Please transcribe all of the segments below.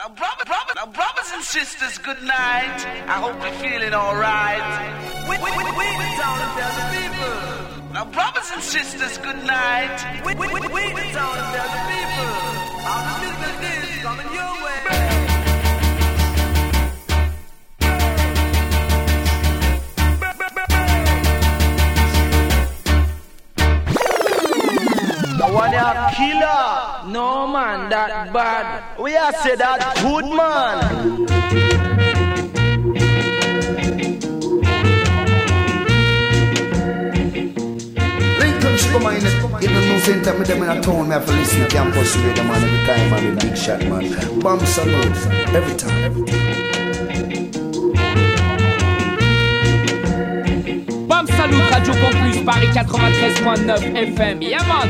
Now, brothers and sisters, good night. I hope you're feeling alright. We the town and tell the people. Now, brothers and sisters, good night. We the town and tell the people. All the business is coming your way. One a killer. No man, that bad. We are say that good man. Lincoln should come in the new center with them in a town. Me have to listen to campus radio man every time, man. The big shot man. Bomb salute every time. Bomb salute Radio Campus Paris 93.9 FM. Yeah man.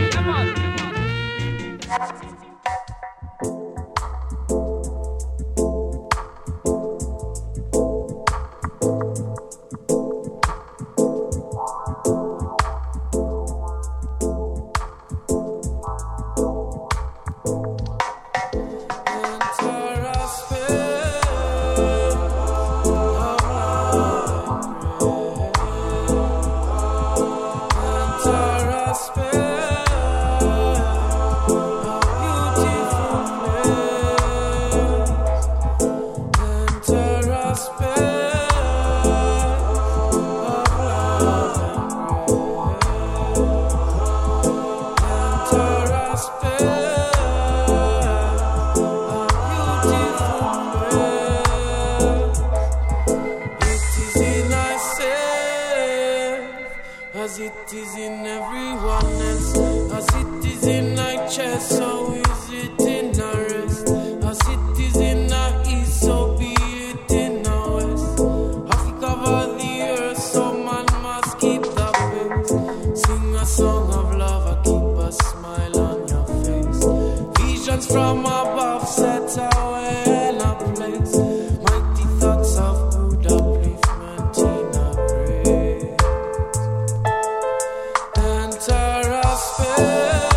Enter a space.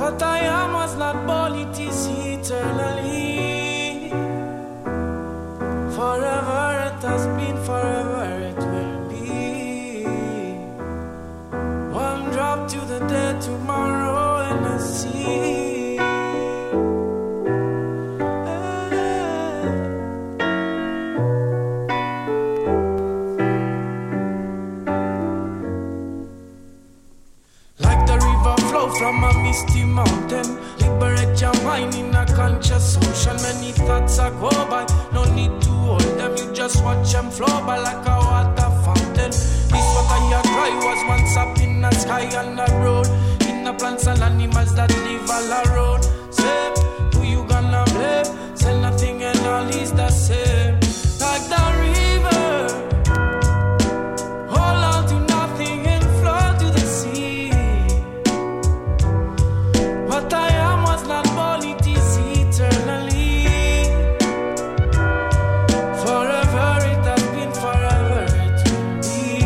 What I am was not born, it is eternally. Forever it has been, forever it will be. One drop to the dead, tomorrow in the sea. From a misty mountain, liberate your mind in a conscious ocean. Many thoughts are go by, no need to hold them. You just watch them flow by like a water fountain. This water you cry was once up in the sky and the road. In the plants and animals that live all around. Say, who you gonna blame? Say nothing and all is the same. Like the river, hold on to nothing and flow to the sea. What I am was not born, it is eternally. Forever it has been, forever it will be.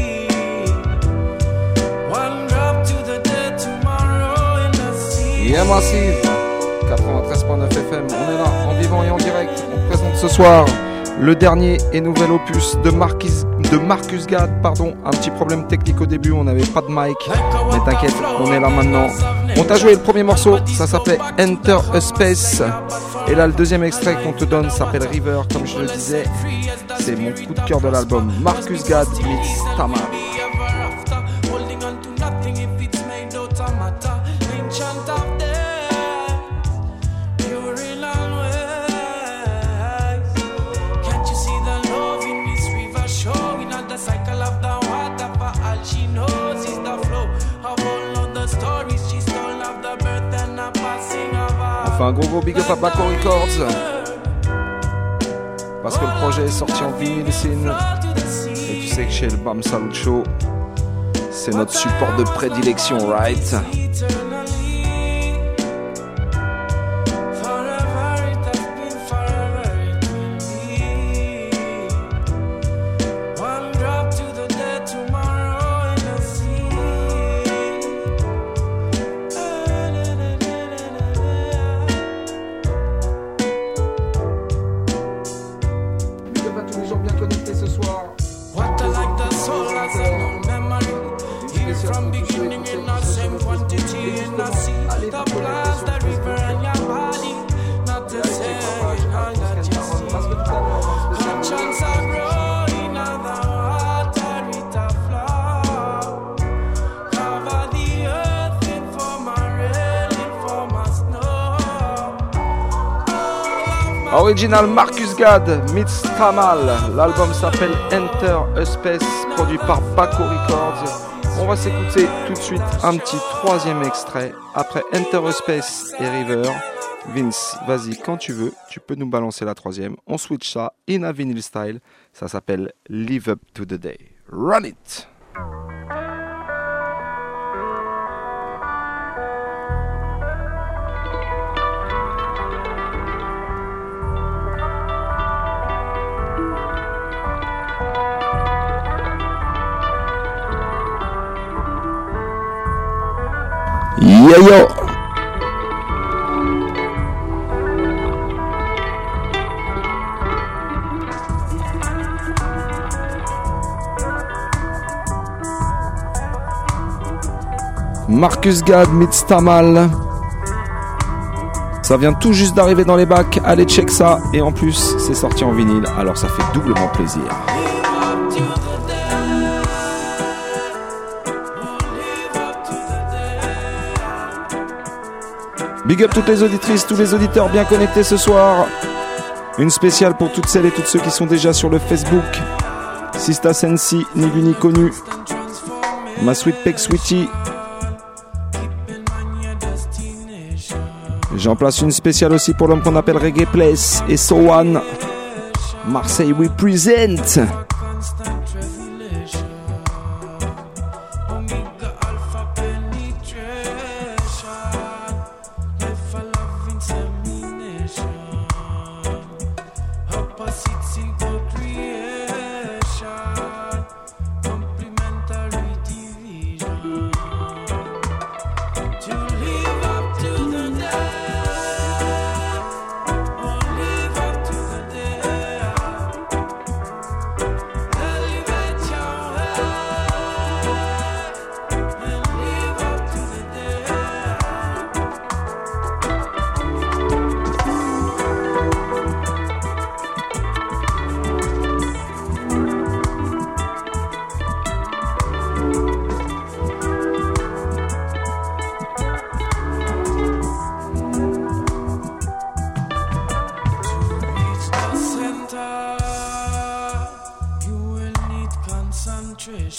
One drop to the dead, tomorrow in the sea. Yeah, Massive 93.9 FM, on est là, en vivant et en direct. On présente ce soir le dernier et nouvel opus de Marcus Gad, pardon, un petit problème technique au début, on n'avait pas de mic, mais t'inquiète, on est là maintenant. On t'a joué le premier morceau, ça s'appelait Enter a Space, et là le deuxième extrait qu'on te donne s'appelle River, comme je le disais, c'est mon coup de cœur de l'album, Marcus Gad meets Tama. Un gros big up à Baco Records parce que le projet est sorti en vinyle et tu sais que chez le Bam Salut Show c'est notre support de prédilection, right? Original Marcus Gad meets Tamal. L'album s'appelle Enter a Space, produit par Baco Records. On va s'écouter tout de suite un petit troisième extrait. Après Enter a Space et River, Vince, vas-y, quand tu veux, tu peux nous balancer la troisième. On switch ça in a vinyl style. Ça s'appelle Live Up to the Day. Run it! Yo yo. Marcus Gad meets Tamal. Ça vient tout juste d'arriver dans les bacs, allez check ça. Et en plus c'est sorti en vinyle, alors ça fait doublement plaisir. Big up toutes les auditrices, tous les auditeurs bien connectés ce soir. Une spéciale pour toutes celles et tous ceux qui sont déjà sur le Facebook. Sista Sensi, ni vu ni connu. Ma Sweet Peck Sweetie. J'en place une spéciale aussi pour l'homme qu'on appelle Reggae Place et So One. Marseille we present.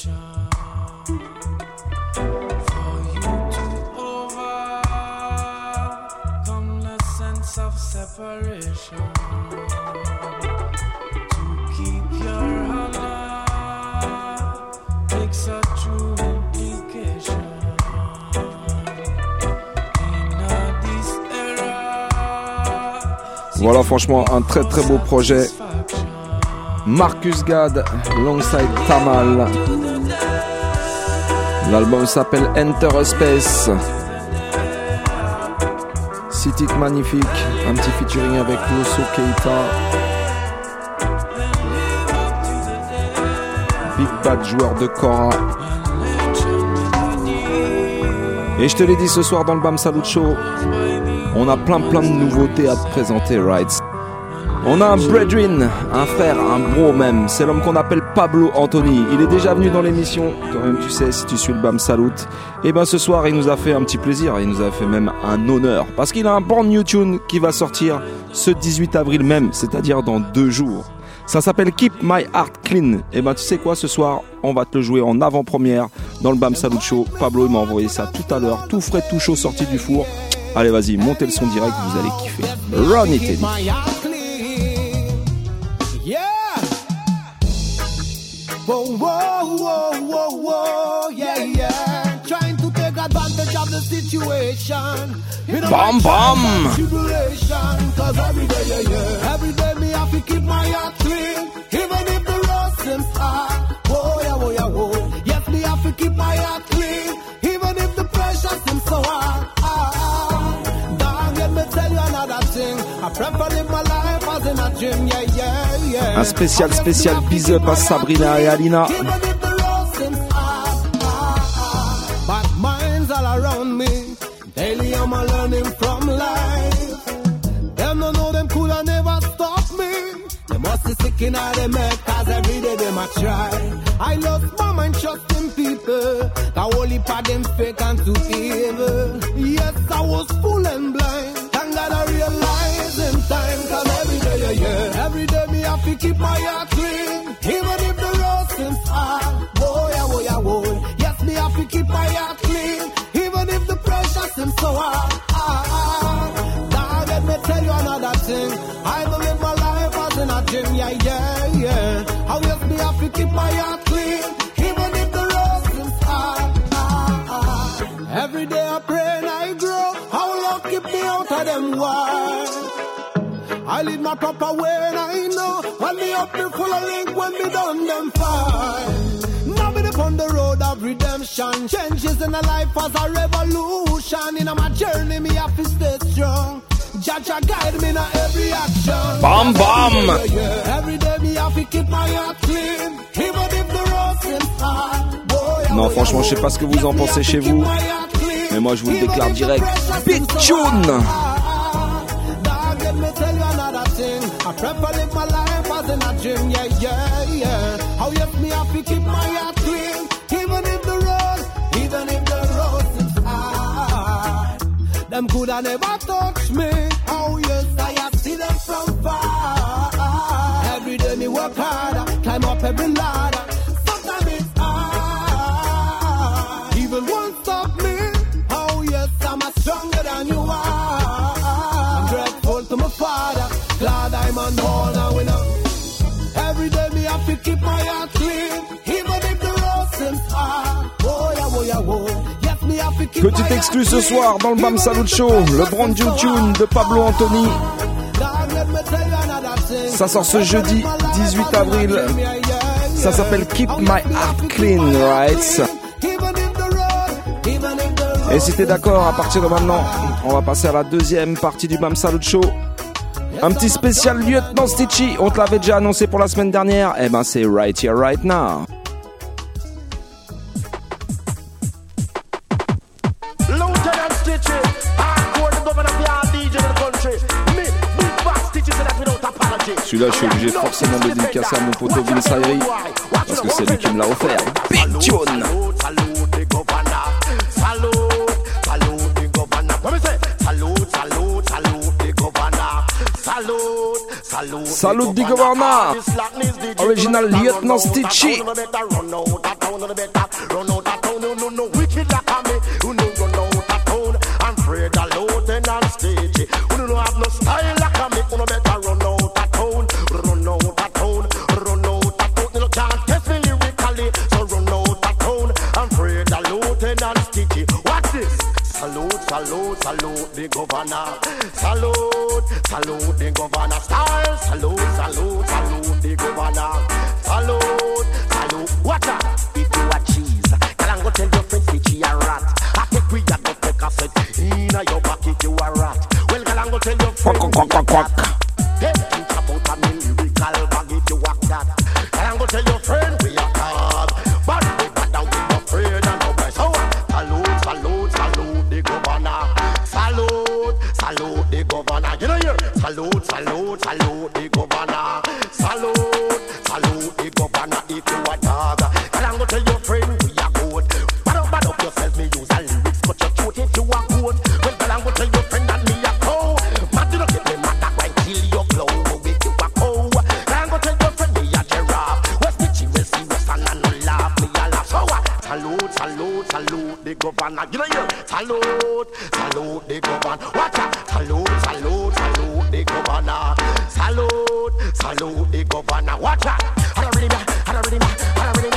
For you to overcome the sense of separation, to keep your honor takes a true implication. Voilà, franchement, un très très beau projet. Marcus Gad, alongside Tamal. L'album s'appelle Enter a Space. 6 titres magnifiques, un petit featuring avec Loso Keita. Big Bad, joueur de Cora. Et je te l'ai dit ce soir dans le Bam Salut Show, on a plein de nouveautés à te présenter, right? On a un brethren, un frère, un bro même. C'est l'homme qu'on appelle Pablo Anthony. Il est déjà venu dans l'émission, quand même tu sais, si tu suis le Bam Salut. Et ben ce soir il nous a fait un petit plaisir, il nous a fait même un honneur. Parce qu'il a un brand new tune qui va sortir ce 18 avril même, c'est-à-dire dans 2 jours. Ça s'appelle Keep My Heart Clean. Et ben tu sais quoi, ce soir on va te le jouer en avant-première dans le Bam Salut Show. Pablo il m'a envoyé ça tout à l'heure, tout frais, tout chaud, sorti du four. Allez vas-y, montez le son direct, vous allez kiffer. Run it, Eddie. Yeah. Whoa, whoa, whoa, whoa, whoa, yeah, yeah. Trying to take advantage of the situation. Bam, bam. Cause every day, yeah, yeah. Every day me have to keep my heart clean. Even if the road seems hard. Whoa, yeah, whoa, yeah, whoa. Yes, me have to keep my heart clean. Even if the pressure seems so hard. Un spécial big up à Sabrina et Alina. But minds all around me. Daily I'm learning from life. Them no know them could have never stop me. They must be sick in all them head, cause every day they might try. I lost my mind trusting people. The holy part them fake and too evil. Yes, I was full and blind. Thank God I realize in time. Cause every day, yeah, yeah. Every day me have to keep my heart clean. Even if the road seems hard. Whoa, yeah, whoa, yeah, whoa. Yes, me have to keep my heart clean. Even if the pressure seems so hard. Now let me tell you another thing. I don't live my life as in a gym, yeah, yeah, yeah. How yes, me have to keep my heart clean. Even if the road seems hard. Every day I pray and I grow. How long keep me out of them wars? I lead my proper way and I know. When me up me full of link, when me done them fine. Now me upon the road of redemption. Changes in the life as a revolution. In my journey me have to stay strong. Jaja guide me in every action. Bam bam. Every day me have to keep my heart clean. Even if the road seems hard. Non, franchement, je sais pas ce que vous en pensez chez vous, mais moi je vous le déclare direct. Big tune. I prefer live my life as in a gym, yeah, yeah, yeah. How yes me have to keep my heart clean. Even if the road seems hard. Them coulda never touch me. Oh yes, I see them from far. Every day me work harder, climb up every ladder. Sometimes it's hard. Even won't stop me. Oh yes, I'm stronger than you are. I'm grateful to my father. Glad I'm on board now, we know. Every day me have to keep my heart clean. Even if the road seems hard. Oh yeah, oh yeah, oh. Yes, me have to keep Petite exclue ce soir dans le Bam Salut Show, le brand new tune de Pablo Anthony. Ça sort ce jeudi 18 avril. Ça s'appelle Keep My Heart Clean, right? Et si t'es d'accord, à partir de maintenant, on va passer à la deuxième partie du Bam Salut Show. Un petit spécial Lieutenant Stitchy, on te l'avait déjà annoncé pour la semaine dernière. Eh ben c'est right here, right now. Lieutenant Stitchy, hardcore the governor of the DJ in the country. Me, big bass Stitchy, so that without apology. Celui-là, je suis obligé forcément de dédicacer à mon poteau Vince Ayri, parce que c'est lui qui me l'a offert. Big tune. Salute the governor. Original Lieutenant Stitchy. Wicked like a me, who no run out of town. I'm afraid of Lieutenant Stitchy. Who no have no style like a me, who no better run out of town. Run out of town, run out of town. You can't test me lyrically, so run out of town. I'm afraid of Lieutenant Stitchy. What's this? Salute, salute, salute the governor. Salute, salute the governor. Style, salute, salute, salute the governor. Salute, salute. Watch out, if you a cheese, go tell your friend Stitchy a rat. I think we got to take a set inna your pocket, you a rat. Well, go tell your friend hey, think about a lyrical bag if you walk that. Go tell your friend we a dog, but we got down with no afraid and no breast. So salute, salute, salute the governor. Salute, salute the governor. You know here, salute, salute, salute the governor. Salute, salute the governor if you a dog. Go tell your friend we a goat. Bad up yourself, me use a lyrics, cut your throat if you a goat. Well, girl, I'm gonna tell your friend that me a cow. Mad do not get me mad, that right kill your blow. Make you a cow. Girl, I'm gonna tell your friend me a giraffe. West Stitchy will see West and no laugh, me a laugh. So what? Salute, salute, salute the governor. You know you salute, salute the governor. Watch out, salute, salute, salute the governor. Salute, salute the governor. Watch out. I don't really know, I don't really know, I don't really know.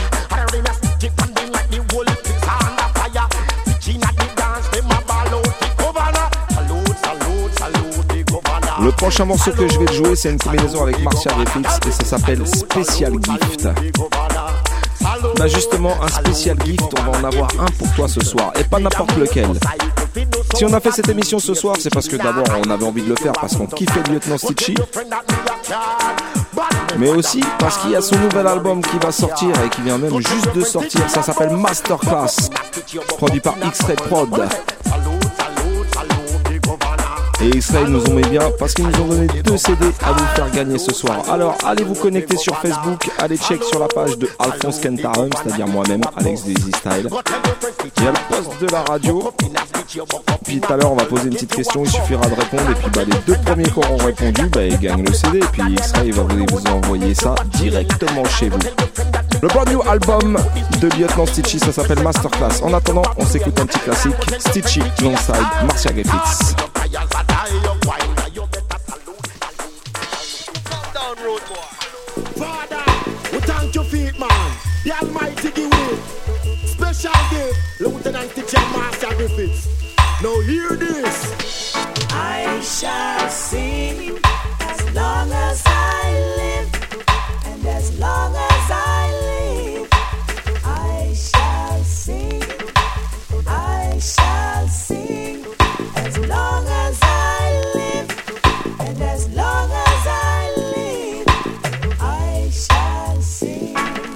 Le prochain morceau que je vais te jouer, c'est une combinaison avec Marcia Griffiths et ça s'appelle Special Gift. Bah justement, un Special Gift, on va en avoir un pour toi ce soir et pas n'importe lequel. Si on a fait cette émission ce soir, c'est parce que d'abord on avait envie de le faire parce qu'on kiffait le Lieutenant Stitchy, mais aussi parce qu'il y a son nouvel album qui va sortir et qui vient même juste de sortir. Ça s'appelle Masterclass, produit par X-Ray Prod. Et X-Ray nous ont mis bien parce qu'ils nous ont donné 2 CD à vous faire gagner ce soir. Alors allez vous connecter sur Facebook, allez check sur la page de Alphonse Kentarum, c'est-à-dire moi-même, Alex de Easy Style. Il y a le poste de la radio. Puis tout à l'heure on va poser une petite question, il suffira de répondre. Et puis les 2 premiers qui auront répondu, ils gagnent le CD. Et puis X-Ray va vous envoyer ça directement chez vous. Le brand new album de Lieutenant Stitchy, ça s'appelle Masterclass. En attendant, on s'écoute un petit classique, Stitchy alongside Marcia Griffiths. Father, we thank your feet, man. The Almighty give you special gift, Lieutenant Stitchy and Marcia Griffiths. Now hear this. I shall sing as long as I live, and as long as I live, I shall sing. I shall sing as long as I live, and as long as I live, I shall sing.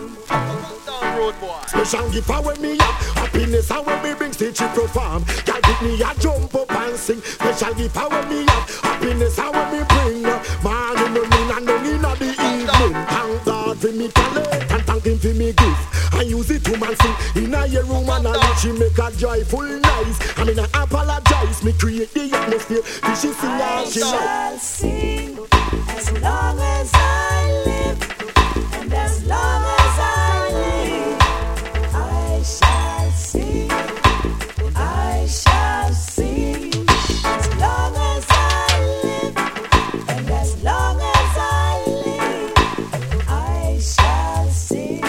Special gift when me up, happiness and when me bring Stitchy perform. Girl pick me a jump up and sing. Special gift when me up, happiness and when me bring. Man in the noon and down in the evening. Thank God for me talent and thank Him for me gift. I use it to man sing in a your room and I let you make a joyful noise. I mean I apologize, me create the atmosphere. This is sing as she shall sing as long as I live, and as long as I live, I shall sing. I shall sing as long as I live, and as long as I live, I shall sing.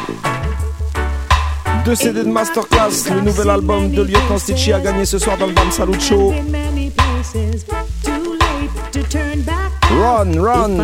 2 CD de Masterclass, le nouvel album de Lieutenant Stitchy a gagné ce soir dans le Bam Salut Show. Run, run.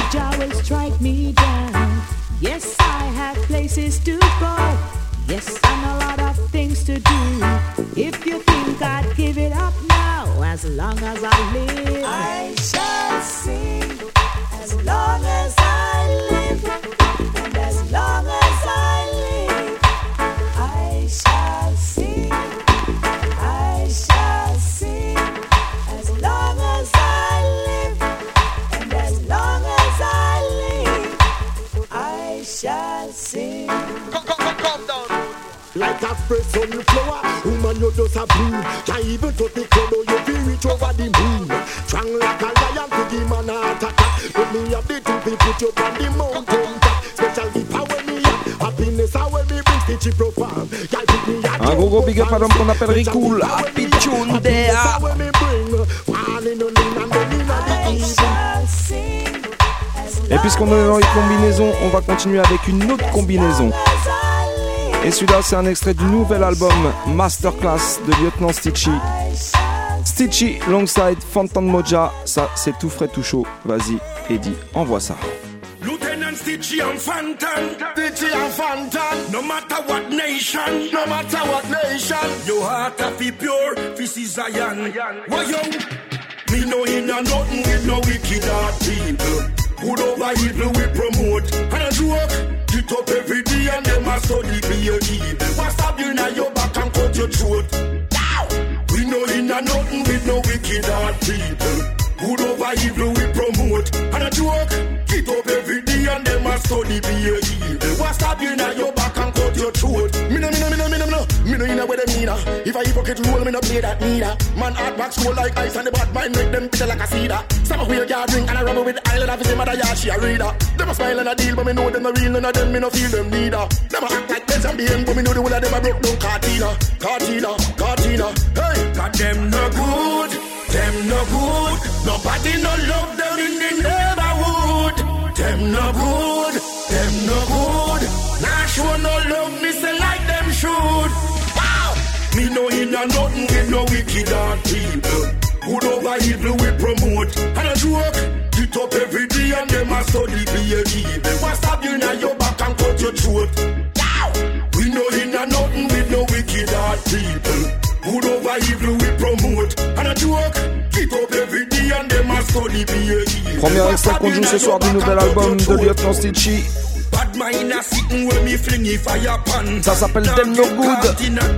Yes, I have places to go. Yes, and a lot of things to do. If you think I'd give it up now, as long as I live, I shall sing. As long as I live, and as long as I live, I shall sing. I shall sing. As long as I live, and as long as I live, I shall sing. Come down. Like a fresh sunflower, woman you just a bloom. Can't even touch the cloud, you feel reach over the moon. Strong like a lion to the man attack. But me things we put you on the mountain top. Special gift when me have happiness when me bring stitchy profile. Girl pick me at Un gros big up à l'homme qu'on appelle Ricool. Happy Tune Dea. Et puisqu'on est dans les combinaisons, on va continuer avec une autre combinaison. Et celui-là, c'est un extrait du nouvel album Masterclass de Lieutenant Stitchy. Stitchy, Longside, Phantom Moja. Ça, c'est tout frais, tout chaud. Vas-y, Eddie, envoie ça. Lieutenant Stitchy and Phantom, Stitchy and Phantom. No matter what nation, no matter what nation, your heart a be pure, this is Zion. Why yo? Me no in a nothing with no wicked heart people. Good over evil we promote, and a joke. Get up every day and them a study be your evil. What's up you now your back and cut your throat? We no in a nothing with no wicked heart people. Good over evil we promote, and a joke. Get up every day and them a study be your evil. What's up you now your back and cut your throat? Me no in a way them mean. If I hypocrite rule, me no play that neither. Man heart back school like ice and the bad mind make them bitter like a cedar. Some of we a drink and a rubber with island of his mother yeah she a reader. Them a smile and a deal but me know them no real, none of them me no feel them neither. Them a act like Benz and BM but me know the whole of them a broke down Cartina. Hey, got them no good, them no good. Nobody no love them in the neighborhood. Them no good. Nah sure no love me say like them should. Wow, me no in a nothing with no wicked heart people. Good over evil we promote, and a joke. Get up every day and them a study be a evil. What's up you now your back and cut your throat? Wow, we no in a nothing with no wicked heart people. Good over evil we promote, and a joke. Get up every day and them a study be a evil. Premier extrait qu'on joue ce soir du nouvel album de Lieutenant Stitchy. Ça s'appelle Them No Good.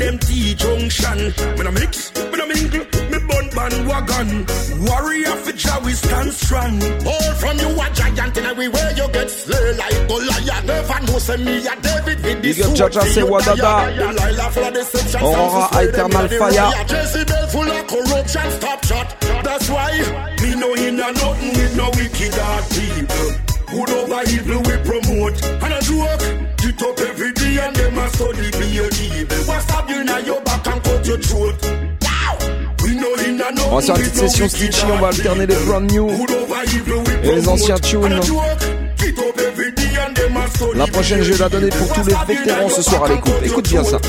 Warrior for Jawi stand strong. All from you a giant in everywhere you get slay like Goliath. Never know say me a David with this sword. Big up Jaja say Wadada. Aurora Eternal Fire. Jezebel full of corruption, stop shot. That's why me no in a nothing with no wicked heart people. Good over evil we promote, and a joke. Get up every day and them a study be your evil. What's up you now your back and cut your throat? On va faire une petite session Stitchy, on va alterner les brand new et les anciens tunes. La prochaine je vais la donner pour tous les vétérans ce soir à l'écoute. Écoute bien ça.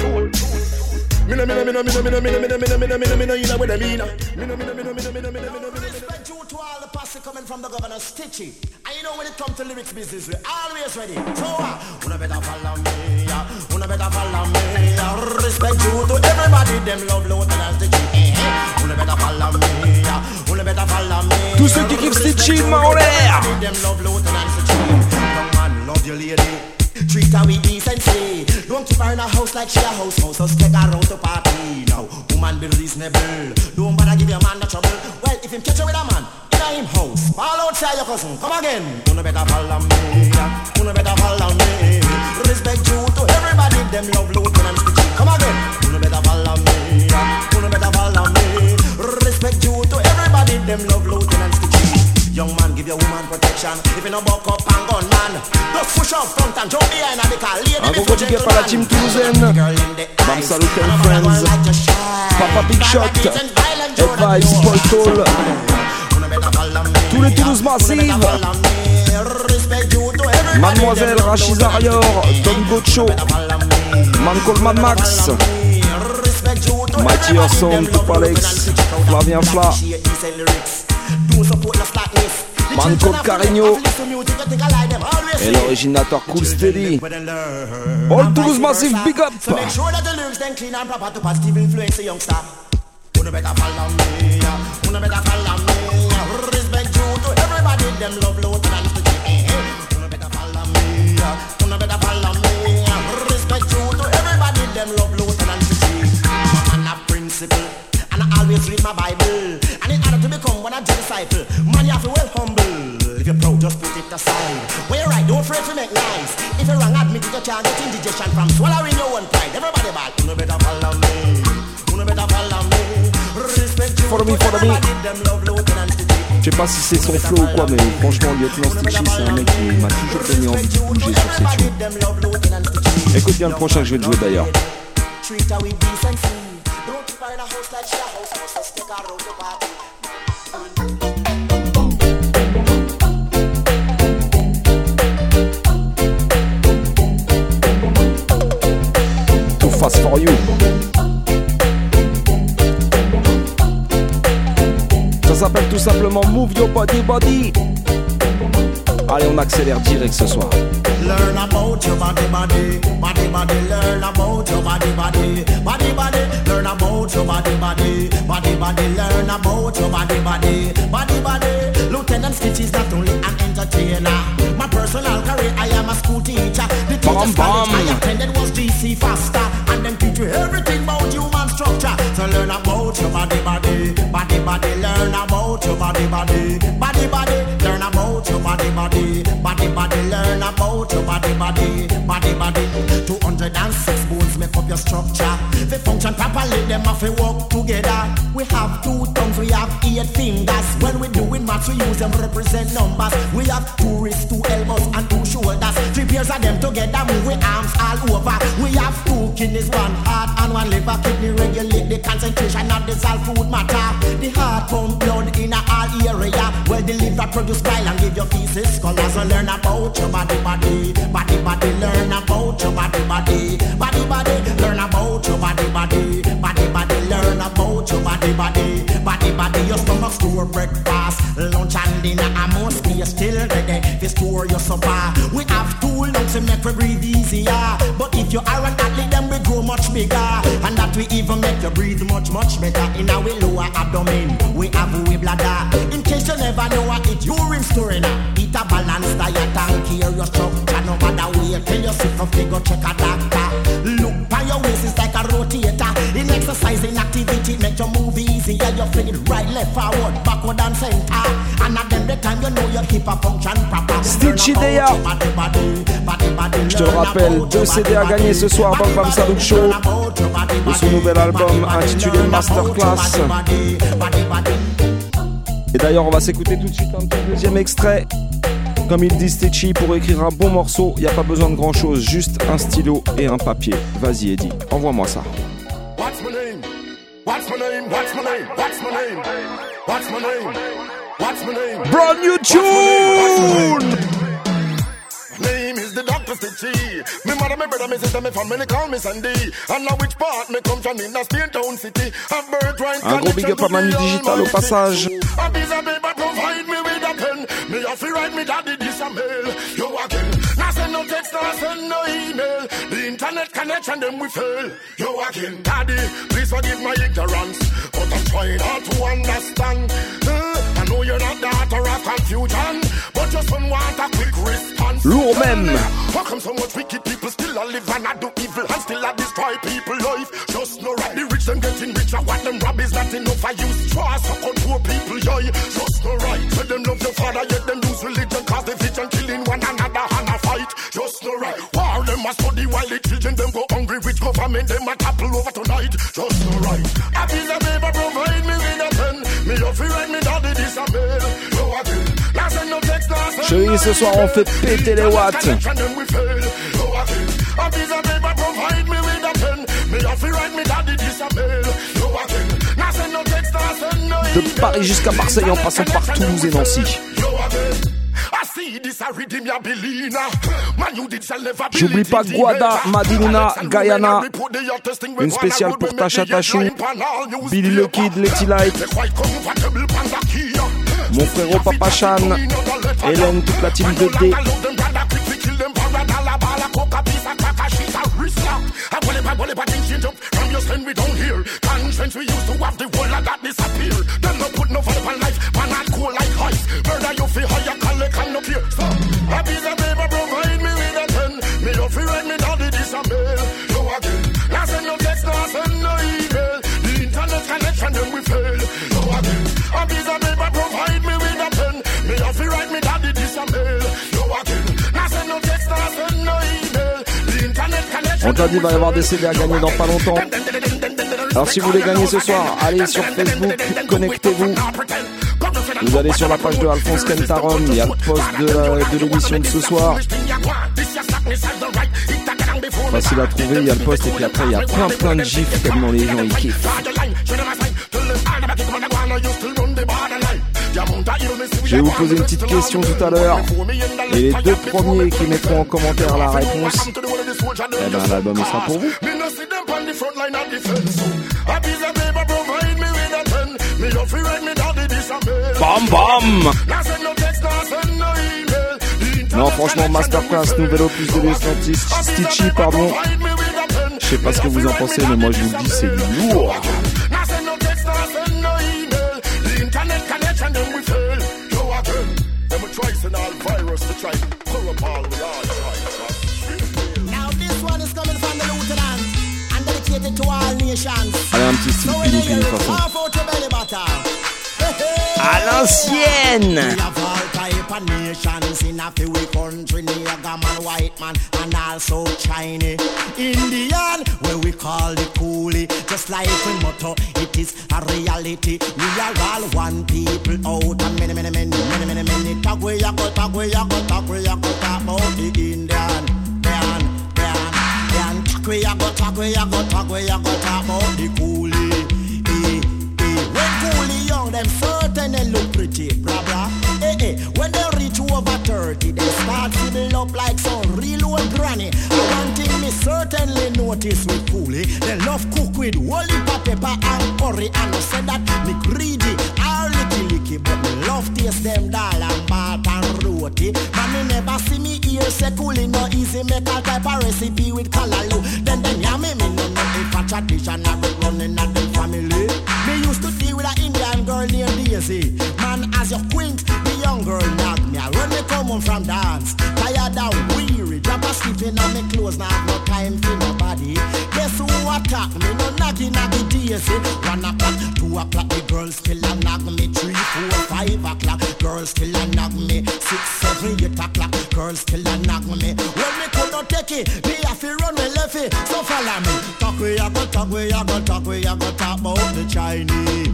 Coming from the governor Stitchy, and you know when it comes to lyrics business, we're always ready. So, una better follow me, una better follow me. Respect you to everybody, them love Lieutenant Stitchy. Una better follow me, una better follow me. Tous ceux qui kiffent Stitchy, main en l'air. Them love Lieutenant Stitchy. Young man, love your lady. Treat her with decency. Don't keep her in a house like she a house. Just take her out to party. Now, woman be reasonable. Don't bother give your man no trouble. Well, if him catch you with a man in him house, fall outside your cousin. Come again. Una better follow me. Una better follow me. Respect you to everybody. Them love Lieutenant Stitchy. Come again. Una better follow me. Una better follow me. Respect you to everybody. Them love Lieutenant Stitchy. Young man, give your woman protection. If you no buck up and gun man, just push up front and jump behind and because lady before gentleman. Un gros team toulousaine. Bam Salut and Friends. Papa Big Shot. Advice, Paul Toll. Tous les Toulouse Massive. Mademoiselle Rachid Arior. Don Gocho. Man called Mad Max. Mighty Orson, Tupalex. Flavien Fla. Man called Carigno. Et l'originateur Cool Steady. All Toulouse Massive, big up. Make sure that the lyrics then clean and proper to positive influence the youngster. Una better follow me, una better follow me. Respect you to everybody, them love Lieutenant Stitchy. Una better follow me, una better follow me. Respect you to everybody, them love Lieutenant Stitchy. Man a principle, and I always read my Bible. And in order to become one of the disciple, man you have to well humble. If you're proud, just put it aside. When you're right, don't afraid to make nice. If you're wrong, admit it, you can't get indigestion from swallowing your own pride. Everybody bad, una better follow me, una better follow me. Respect you follow me, follow me. Them love Lieutenant Stitchy. Je sais pas si c'est son flow ou quoi, mais franchement, Lieutenant Stitchy, c'est un mec qui m'a toujours donné envie de bouger sur ses tunes. Écoute bien le prochain que je vais te jouer d'ailleurs. Too fast for you. Ça s'appelle tout simplement Move Your Body Body. Allez, on accélère direct ce soir. Learn about your body, body, body, body. Learn about your body, body, body, body. Learn about your body, body, body, body. Learn about your body, body, body, body. Lieutenant Stitch is not only an entertainer. My personal career, I am a school teacher. The teacher's college I attended was GC Faster, and them teach you everything about human structure. So learn about your body, body, body, body. Learn about your body, body, body, body. Learn about your body, body, body, body. Learn about your body, body, body, body. 206 bones make up your structure. They function properly, them have to work together. We have 2 thumbs, we have 8 fingers. When we doing maths, we use them represent numbers. We have 2 wrists, 2 elbows, and 2 shoulders. 3 pairs of them together, move with arms all over. We have 2 kidneys, 1 heart, and 1 liver. Kidney regulate the concentration of the salt food matter. The heart pump blood in all area. Well, the liver produce bile and give your feces colors. So learn about your body, body, body, body. Learn about your body, body, body, body. Learn about your body, body, body, body. Learn about your body, body, body, body. Your stomach store breakfast, lunch and dinner. I must be still ready to store your supper. We have 2 lungs to make we breathe easier. But if you are an athlete, then we grow much bigger. And that we even make you breathe much, much better. In our lower abdomen, we have a bladder. In case you never know what it urine storing. Eat a balanced diet and care your structure. No matter where, tell yourself if you go check a doctor. Look by your waist, it's like a rotator. In exercise, in activity, make your move easier. You feel it right, left, forward, backward and center. And at the time you know your hip a function proper. Stitchy Deya. Je te le rappelle, 2 CD à gagner ce soir dans le Bam Salut Show de son nouvel album intitulé Masterclass. Et d'ailleurs, on va s'écouter tout de suite un petit deuxième extrait. Comme il dit Stitchy, pour écrire un bon morceau, il n'y a pas besoin de grand chose, juste un stylo et un papier. Vas-y Eddie, envoie-moi ça. What's my name? What's my name? What's my name? What's my name? What's my name? What's my name? Brand new tune! My name is the Dr. Stitchy. Me mother, me brother, me sister, me family call me Sandy. And now which part me come from in a Spain town city. Un gros big up à Manu Digital au passage. A piece of paper provide me with a pen. Me have to write me daddy this a mail. You again. Now send no text, now send no email. The internet connection them we fail. You again. Daddy, please forgive my ignorance, but I'm trying hard to understand. I know you're not the author of confusion, but just one want a quick response. Lourd même. How come so much wicked people still a live and I do evil and still a destroy people life? Just no right. The rich them getting richer, what them rob is not enough. I use straw suck out poor people, yeah. Just no right. Let them love your father, yet them lose religion, cause division, killing one another and a fight. Just no right. War them a study while the children them go hungry. Which government them a topple over tonight? Just no right. A piece of paper provide me with a pen. Me have to write me daddy this a mail. No again. Chérie, ce soir on fait péter les watts. De Paris jusqu'à Marseille en passant par Toulouse et Nancy. J'oublie pas Guada, Madinina, Guyana. Une spéciale pour Tasha Tachou, Billy le Kid, Letty Light, mon frérot Papa Chan, Hélène, toute la team de D. On t'a dit qu'il va y avoir des CD à gagner dans pas longtemps. Alors si vous voulez gagner ce soir, allez sur Facebook, connectez-vous. Vous allez sur la page de Alphonse Kentarom, il y a le post de l'émission de ce soir. Facile à trouver, il y a le post et puis après il y a plein de gifs tellement les gens ils kiffent. Je vais vous poser une petite question tout à l'heure et les deux premiers qui mettront en commentaire la réponse, eh ben l'album sera pour vous. Bam bam. Non franchement masterclass, nouvel opus de Lieutenant Stitchy, pardon. Je sais pas ce que vous en pensez mais moi je vous le dis c'est lourd. Allez un petit style Philippine de toute façon. À l'ancienne. In a few country, nigga man, white man, and also Chinese. Indian, where we call the coolie, just like we motto, it is a reality. We are all one people out, and many talk we ya go, talk we ya go, talk we ya go, talk about the Indian, talk we ya go, talk we ya go, talk we ya go, talk about the coolie. When coolie young, them certain and look pretty, brother. When they reach over 30, they start feeling up like some real old granny. One thing me certainly notice with coolie, they love cook with holy pepper and curry. And I said that me greedy, all licky, but me love taste them dal and bat and roti. But me never see me ear say coolie no easy make a type of recipe with callaloo. Then yeah me no know if a tradition have been running at the family. Me used to deal with an Indian girl named Daisy. Man, as you quint, the young girl knock me. When me come home from dance, tired and weary, drop a sleeping on me clothes, now have no time for nobody. Guess who attack me? No knocky Daisy. 1 o'clock, 2 o'clock, the girls still a knock me. 3, 4, 5 o'clock, girls still a knock me. 6, 7, 8 o'clock, girls still a knock me. When me could not take it, me have to run me left it. So follow me. Talk we a go, talk we a go, talk we a go, talk about the Chinese.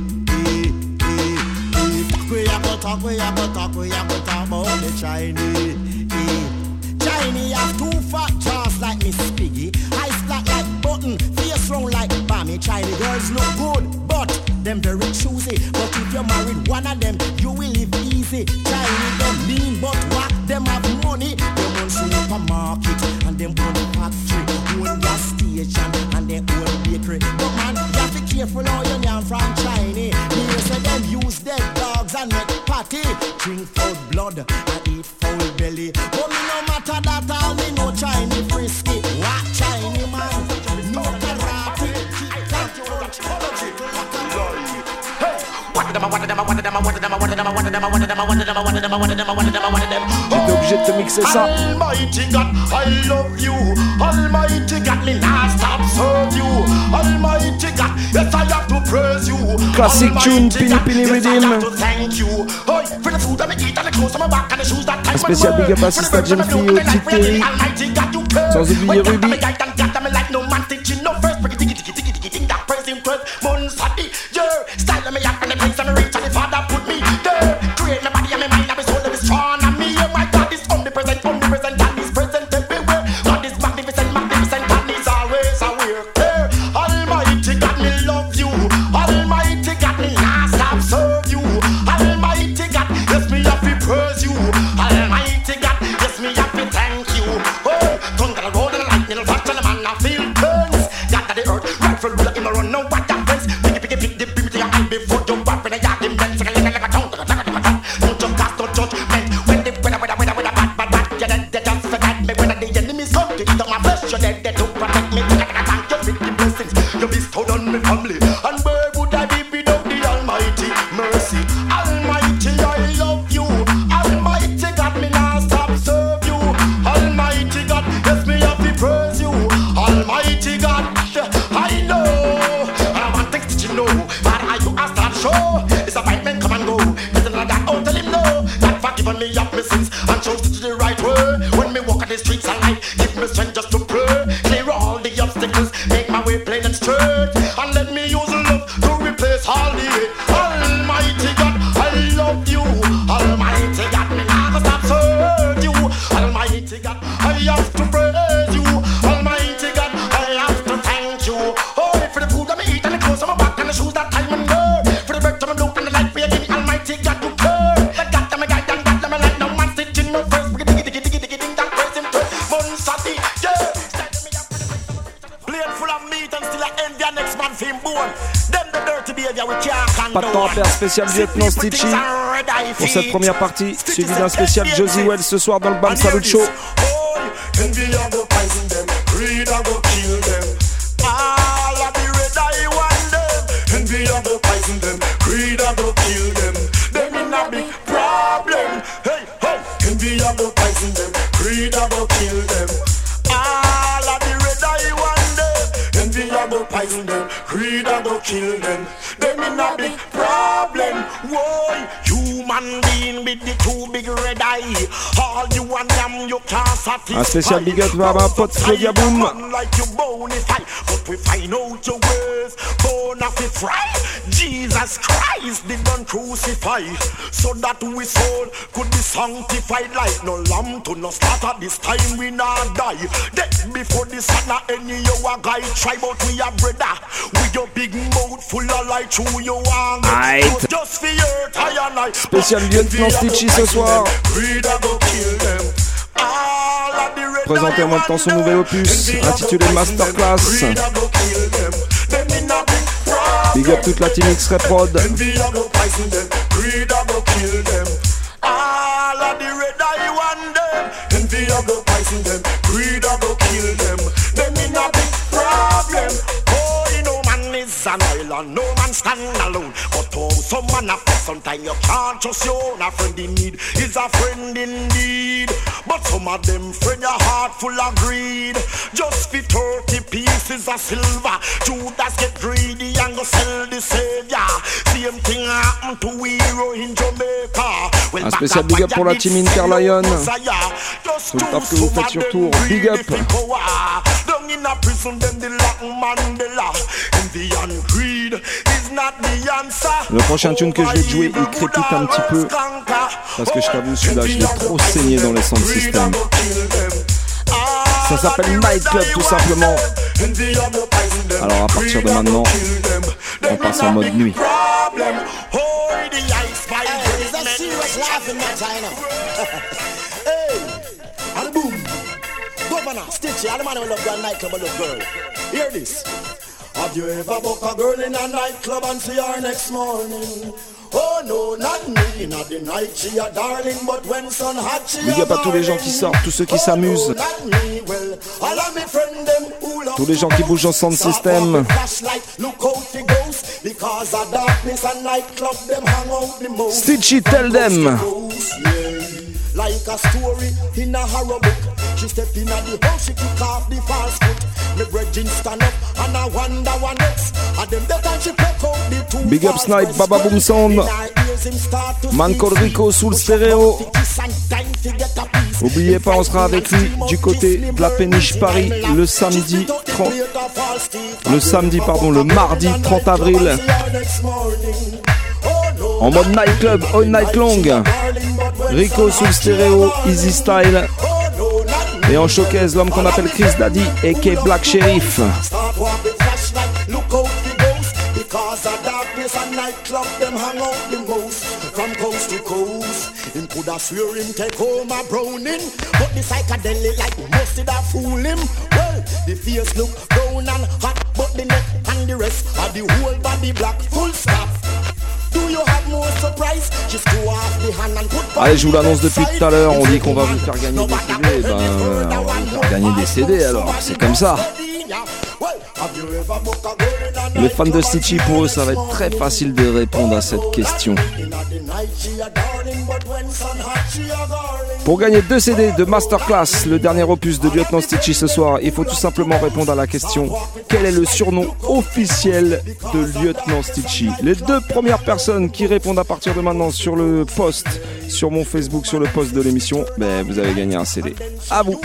Talk we a go, talk about the Chinese. Chinese have 2 fat jaws like Miss Piggy, eyes flat like button, face round like Bammy. Chinese girls look good, but them very choosy. But if you married one of them, you will live easy. Chinese them mean, but what? Them have money. Them own supermarket and them own factory, own gas station and them own bakery. But man, you have to be careful how you name from Chinese. They say them use dead dogs and make party, drink foul blood and eat foul belly. But me no matter that, all me no Chinese frisky. What Chinese man? No karate. J'étais obligé de te mixer ça. Almighty God, I love you. Almighty God, me not stop serve you. Almighty God, yes I have to praise you. Classic tune, Pini Rhythm. Un spécial big up à Sister Jeune Fille, au petit Terry. Sans oublier Ruby. l'affaire spéciale Lieutenant Stitchy pour cette première partie, suivi d'un spécial Josie Wells ce soir dans le Bam Salut Show. Poison them, greed a go kill them. Them in a big problem. Why? Human being with the two big red eye. All you and them you can't satisfy. Un spécial big up à ma pote Claudia Boom. Like you bonify, but we find out your ways. Bonify. Jesus Christ did not crucify, so that we soul could be sanctified. Like no lamb to no slaughter. This time we not die. Death before the sun any you a guy try, but we are brother. With your big mouth full of light through your arm. Just for your tire night. Spécial Lieutenant Stitchy ce soir. Présenté en même temps son nouvel opus intitulé Masterclass. Big up toute la team X-Ray Prod. An island, no man stand alone. But oh, some man a sometimes you can't trust your own. A friend in need is a friend indeed. But some of them friend your heart full of greed. Just for 30 pieces of silver, Judas get greedy and go sell the savior. Same thing happened to hero in Jamaica. Well, un spécial big up pour la team Interlion. Tout le taf que vous faites sur tour, big up. In a prison, then the lock Mandela. Envy and greed is not the answer. Le prochain tune que je vais jouer, il crépite un petit peu. Parce que je t'avoue, celui-là, je l'ai trop saigné dans les sound systems. Ça s'appelle Nightclub tout simplement. Alors à partir de maintenant, on passe en mode nuit. Governor, Stitchy, all the man who love that nightclub and love girl. Hear this. Have you ever booked a girl in a nightclub and see her next morning? Oh no, not me. Not the night she a darling, but when sun hot she a Big up à tous les gens qui sortent, tous ceux qui s'amusent. Tous les gens qui bougent en sound system. Stitchy, tell them. Like a story in a horror book. She step in at the house, she kick off the false foot. Me brethren stand up and I wonder what next. And them better she pluck out the two. Big up Snipe, Baba Boom Sound. Man called Rico sous le stéréo. Oubliez pas, on sera avec lui du côté de la péniche Paris le samedi 30. Le mardi 30 avril. En mode nightclub, all night long. Rico sous le stéréo, Easy Style. Et en showcase, l'homme qu'on appelle Chris Daddy aka Black Sheriff. Because of darkness and nightclub, them hang out the most. From coast to coast, him coulda swear him take home a browning, but the psychedelic like mustard a fool him. Well, the face look brown and hot, but the neck and the rest of the whole body black. Full stop. Allez, je vous l'annonce depuis tout à l'heure, on dit qu'on va vous faire gagner des CD, ben on va vous faire gagner des CD alors, c'est comme ça. Les fans de Stitchy, pour eux, ça va être très facile de répondre à cette question. Pour gagner 2 CD de Masterclass, le dernier opus de Lieutenant Stitchy ce soir, il faut tout simplement répondre à la question: quel est le surnom officiel de Lieutenant Stitchy? Les 2 premières personnes qui répondent à partir de maintenant sur le post, sur mon Facebook, sur le post de l'émission, ben vous avez gagné un CD. À vous.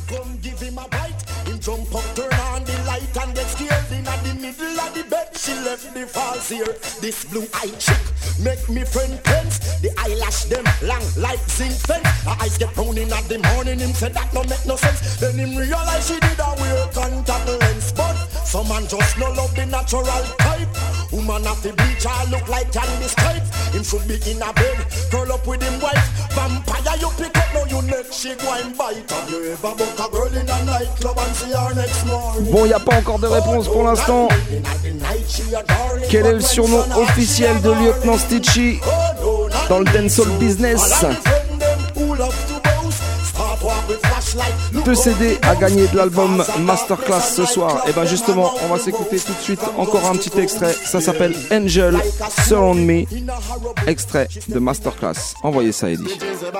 She left the falls here. This blue-eyed chick make me friend tense. The eyelash them long like zinc fence. Her eyes get brown in at the morning. Him said that no make no sense. Then him realize she did a wear contact lens. But some man just no love the natural type. Woman have to bleach her look like candy stripe. Him should be in a bed, curl up with him wife. Vampire you pick up, now you neck she go and bite. Have you ever book a girl in a nightclub and see her next morning? Bon, y a pas encore de réponse pour l'instant. Quel est le surnom officiel de Lieutenant Stitchy dans le dancehall business? 2 CD à gagner de l'album Masterclass ce soir. Et ben justement, on va s'écouter tout de suite encore un petit extrait. Ça s'appelle Angel Surround Me, extrait de Masterclass. Envoyez ça, Eddie.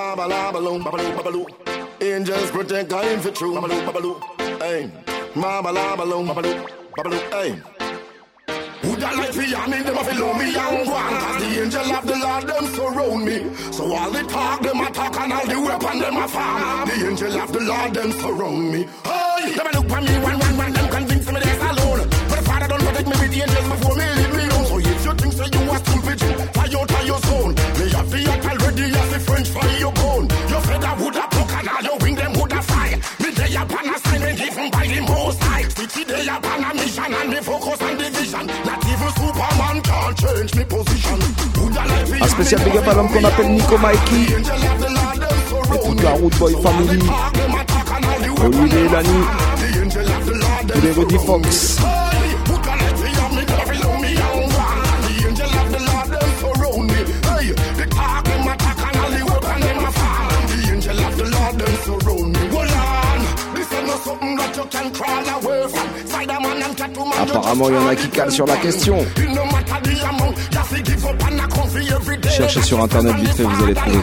Angels protect I'm for true. Hey, mama la balloon, hey. Would I like to me, them a follow me and go on, cause the angel of the Lord them surround me. So all the talk them a talk and all the weapon them a farm. The angel of the Lord them surround me. Hey, them a look for me one, them convince me they're alone. But the Father don't protect me with the angels before me leave me alone. So if you think so you are stupid, fire out of your zone. Me have the act already as the French fire your bone. Your feather would have broke and all your wing them would have fire. Me day upon assignment given by the Most High. City day upon a mission and me focus on the vision. Not even Superman can change me position. Un spécial big up à l'homme qu'on appelle Nico Mikey et toute la Root Boy Family, Olivier et Lani, tous les Rudy Fox. Apparemment, il y en a qui calent sur la question. Cherchez sur internet vite fait, vous allez trouver.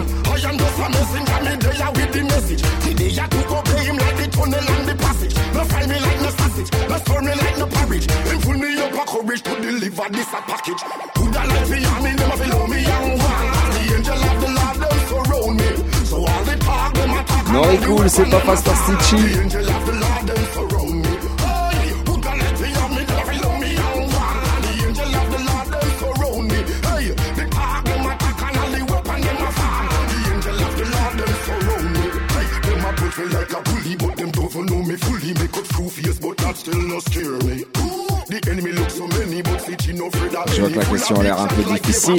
Nori Cool, c'est pas Pastor Stitchy. Je vois que la question a l'air un peu difficile.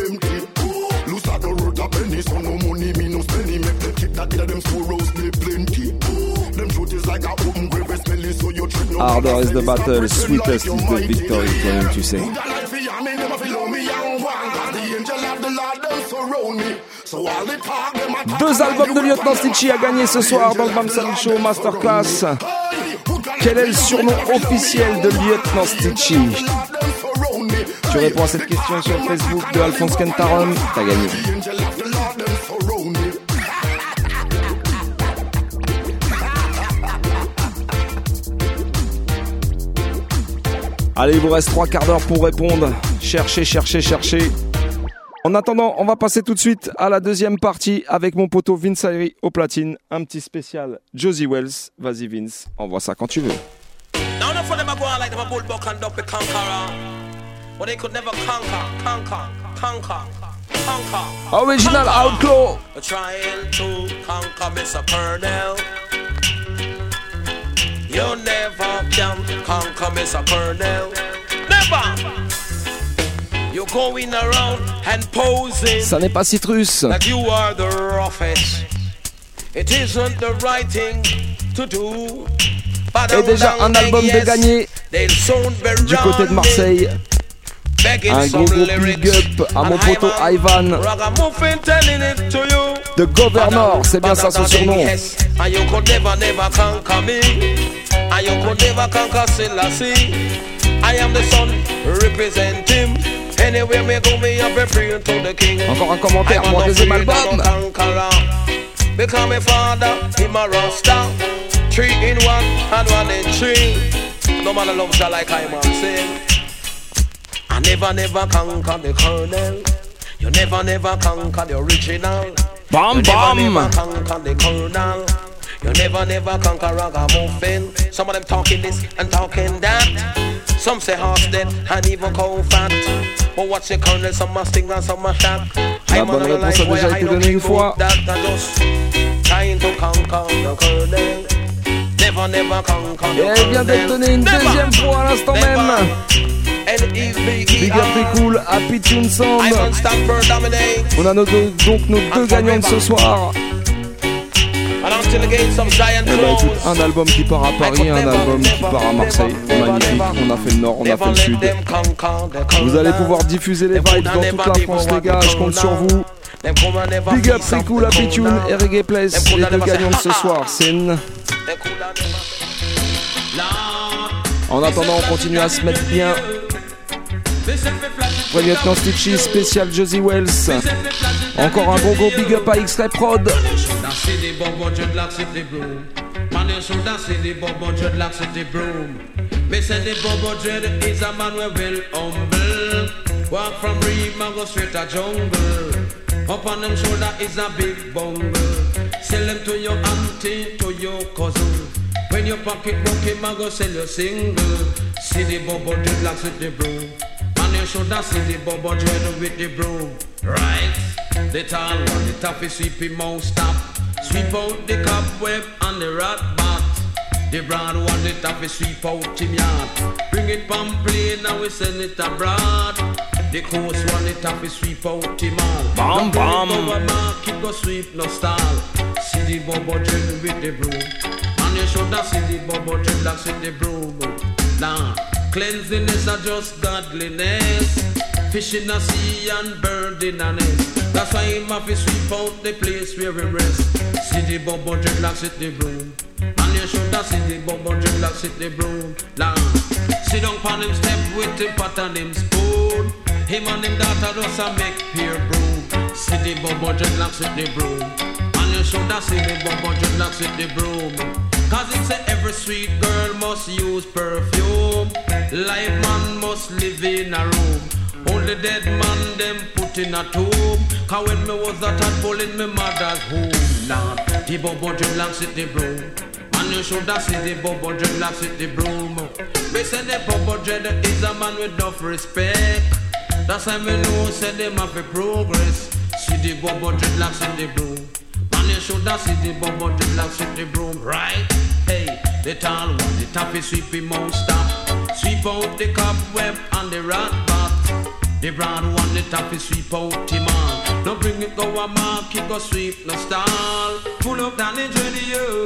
Harder is the battle, sweetest is the victory, toi-même tu sais. 2 albums de Lieutenant Stitchy à gagner ce soir dans le Bam Salut Show Masterclass. Quel est le surnom officiel de Lieutenant Stitchy? Tu réponds à cette question sur Facebook de Alphonse Kentarum, t'as gagné. Allez, il vous reste 3 quarts d'heure pour répondre. Cherchez. En attendant, on va passer tout de suite à la deuxième partie avec mon poteau Vince Ayri au platine. Un petit spécial Josie Wells. Vas-y Vince, envoie ça quand tu veux. Original Outlaw. Trying to conquer Mr. Purnell. You never can conquer Mr. Purnell. Never. You're going around and posing. Ça n'est pas Citrus. That you are the roughest. It isn't the right thing to do. Et déjà un album de gagné du côté de Marseille. Un gros big up à mon poteau Ivan. The Governor, c'est bien ça son surnom. And you could never conquer me. And you could never conquer Selassie. I am the son, represent him. Anywhere me go, me have a prayer to the king. Encore un commentaire pour un deuxième album. Because my father, him a Rasta. 3 in 1 and 1 in 3. No man loves her like I am saying. I never conquer the colonel. You never conquer the original. Bam you bam. Never conquer the colonel. You never conquer ragamuffin. Some of them talking this and talking that. Some say horse dead and even cow fat. But what's the colonel? Some must sting and some must shot. La bonne réponse a déjà été donnée une fois. Trying to conquer the colonel. Never conquer the colonel. Et elle vient d'être donnée une deuxième fois à l'instant même. Big up et cool, Happy Tune Sound. On a donc nos deux gagnants de ce soir. And until the gates of Zion Eh bah écoute, close. un album qui part à Paris, un album qui part à Marseille. Magnifique, on a fait le nord, on a fait le sud. Vous allez pouvoir diffuser les vibes dans toute la France, les gars, je compte sur vous. Big up Riku, la Pitune et Reggae Place, les deux gagnants de ce soir. C'est En attendant, on continue à se mettre bien. Vrai lieutenant Stitchy, spécial Josie Wells. Encore un gros big up à X-Ray Prod. Man, you should have seen the Bobo Dreadlock City Broom. Me say the Bobo Dread is a man we will humble. Walk from Reem and go straight to jungle. Up on them shoulder is a big bungle. Sell them to your auntie, to your cousin. When your pocket broke him and go sell your single. See the Bobo Dreadlock City Broom. Man, you should have seen the Bobo Dread with the broom. Right, the tall one, the toughy sweepy mouth stop. Sweep out the cobweb and the rat bat. The broad one, the top is sweep out him yard. Bring it from plane and we send it abroad. The coast one, the top is sweep out him all. Bam bam. Keep go sweep no stall. See the Bobo Dread with the broom. And you should have seen the Bobo Dreadlocks with the broom. Now, cleanliness are just godliness. Fish in the sea and bird in a nest. That's why him have to sweep out the place where we rest. See the Bobo Dreadlocks with the broom. And you should have seen the Bobo Dreadlocks with the broom. Now, sit down on him step with him pot and him spoon. Him and him daughter just a make pure broom. See the Bobo Dreadlocks with the broom. And you should have seen the Bobo Dreadlocks with the broom. Cause it say every sweet girl must use perfume. Live man must live in a room. Only dead man them put in a tomb. Cause when me was a tadpole in me mother's home. Now, the Bobo Dreadlocks with the broom. And you should have seen the Bobo Dreadlocks with the broom. Me say the Bobo Dread is a man with enough respect. That's why me know say them have a progress. See the Bobo Dreadlocks with the broom. And you should have seen the Bobo Dreadlocks with the broom, right? Hey, the tall one, the taffy sweepy mouth stop. Sweep out the cobweb and the rat bat. The broad one, the taffy sweep out him on. Don't bring it go a mark, it go sweep no stall. Pull up down the radio.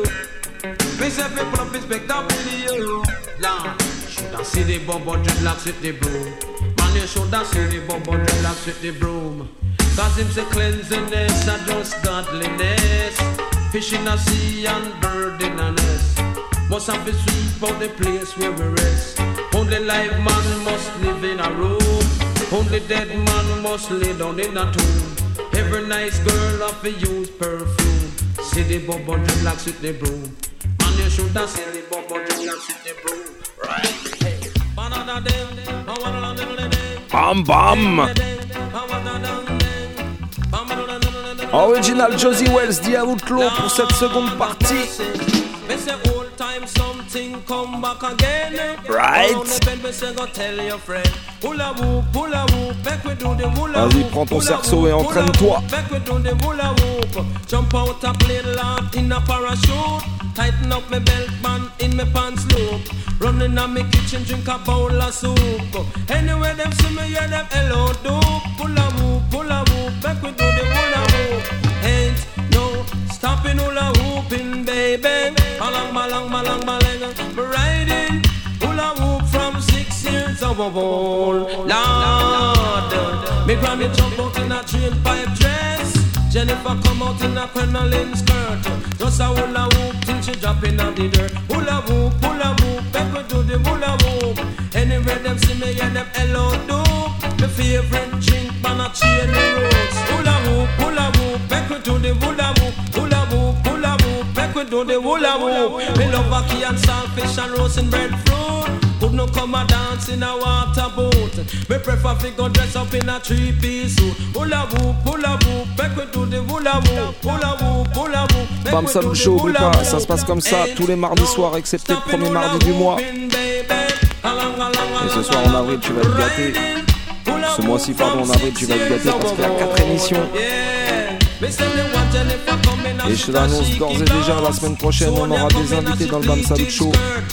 Me say me pull up inspect the video. Now, should I see the Bobo Dreadlocks with the broom? Man, you should have seen the Bobo Dreadlocks with the broom. Cause him say cleanliness and just godliness. Fish in a sea and bird in a nest. Must have to sweep out the place where we rest. Only live man must live in a room. Only dead man must lay down in a tomb. Every nice girl have to use perfume. See the Bobo Dreadlocks with the broom. And you should have seen the Bobo Dreadlocks with the broom. Right? Hey. Bam bam. Original Josie Wells, The Outlaw pour cette seconde partie. Right. Vas-y, prends ton cerceau et entraîne-toi. Jump out a plane lot in a parachute. Tighten up my belt band in my pants loop. Running on my kitchen, drink a bowl of soup. Anyway, them see me, yeah, them hello dope. Pull a whoop, back we do the hula hoop. Ain't no stopping hula hooping, baby. Malang, me riding hula hoop from 6 years of old. Lord, me granny jump out in a train pipe dress. Jennifer come out in a crinoline skirt. Just a hula hoop till she drop in the dirt. Hula hoop, back we do the hula hoop. Anyway, them see me, yeah, them hello dope. My favorite drink, man, a chain the roots. Hula hoop, back we do the hula hoop. Hula hoop, back we do the hula hoop. Me love ackee and saltfish and roasting breadfruit. Could no come a dance in a water boat. Me prefer fi go dress up in a 3-piece suit. Hula hoop, back we do the hula hoop. Hula hoop, Bam Salut Show, oublie pas, ça se passe comme ça tous les mardis soirs, excepté le premier mardi du mois. Et ce soir en avril, tu vas te gâter. Ce mois-ci, pardon, en avril, tu vas te gâter parce qu'il y a 4 émissions. Et je l'annonce d'ores et déjà, la semaine prochaine, on aura des invités dans le Bam Salut Show.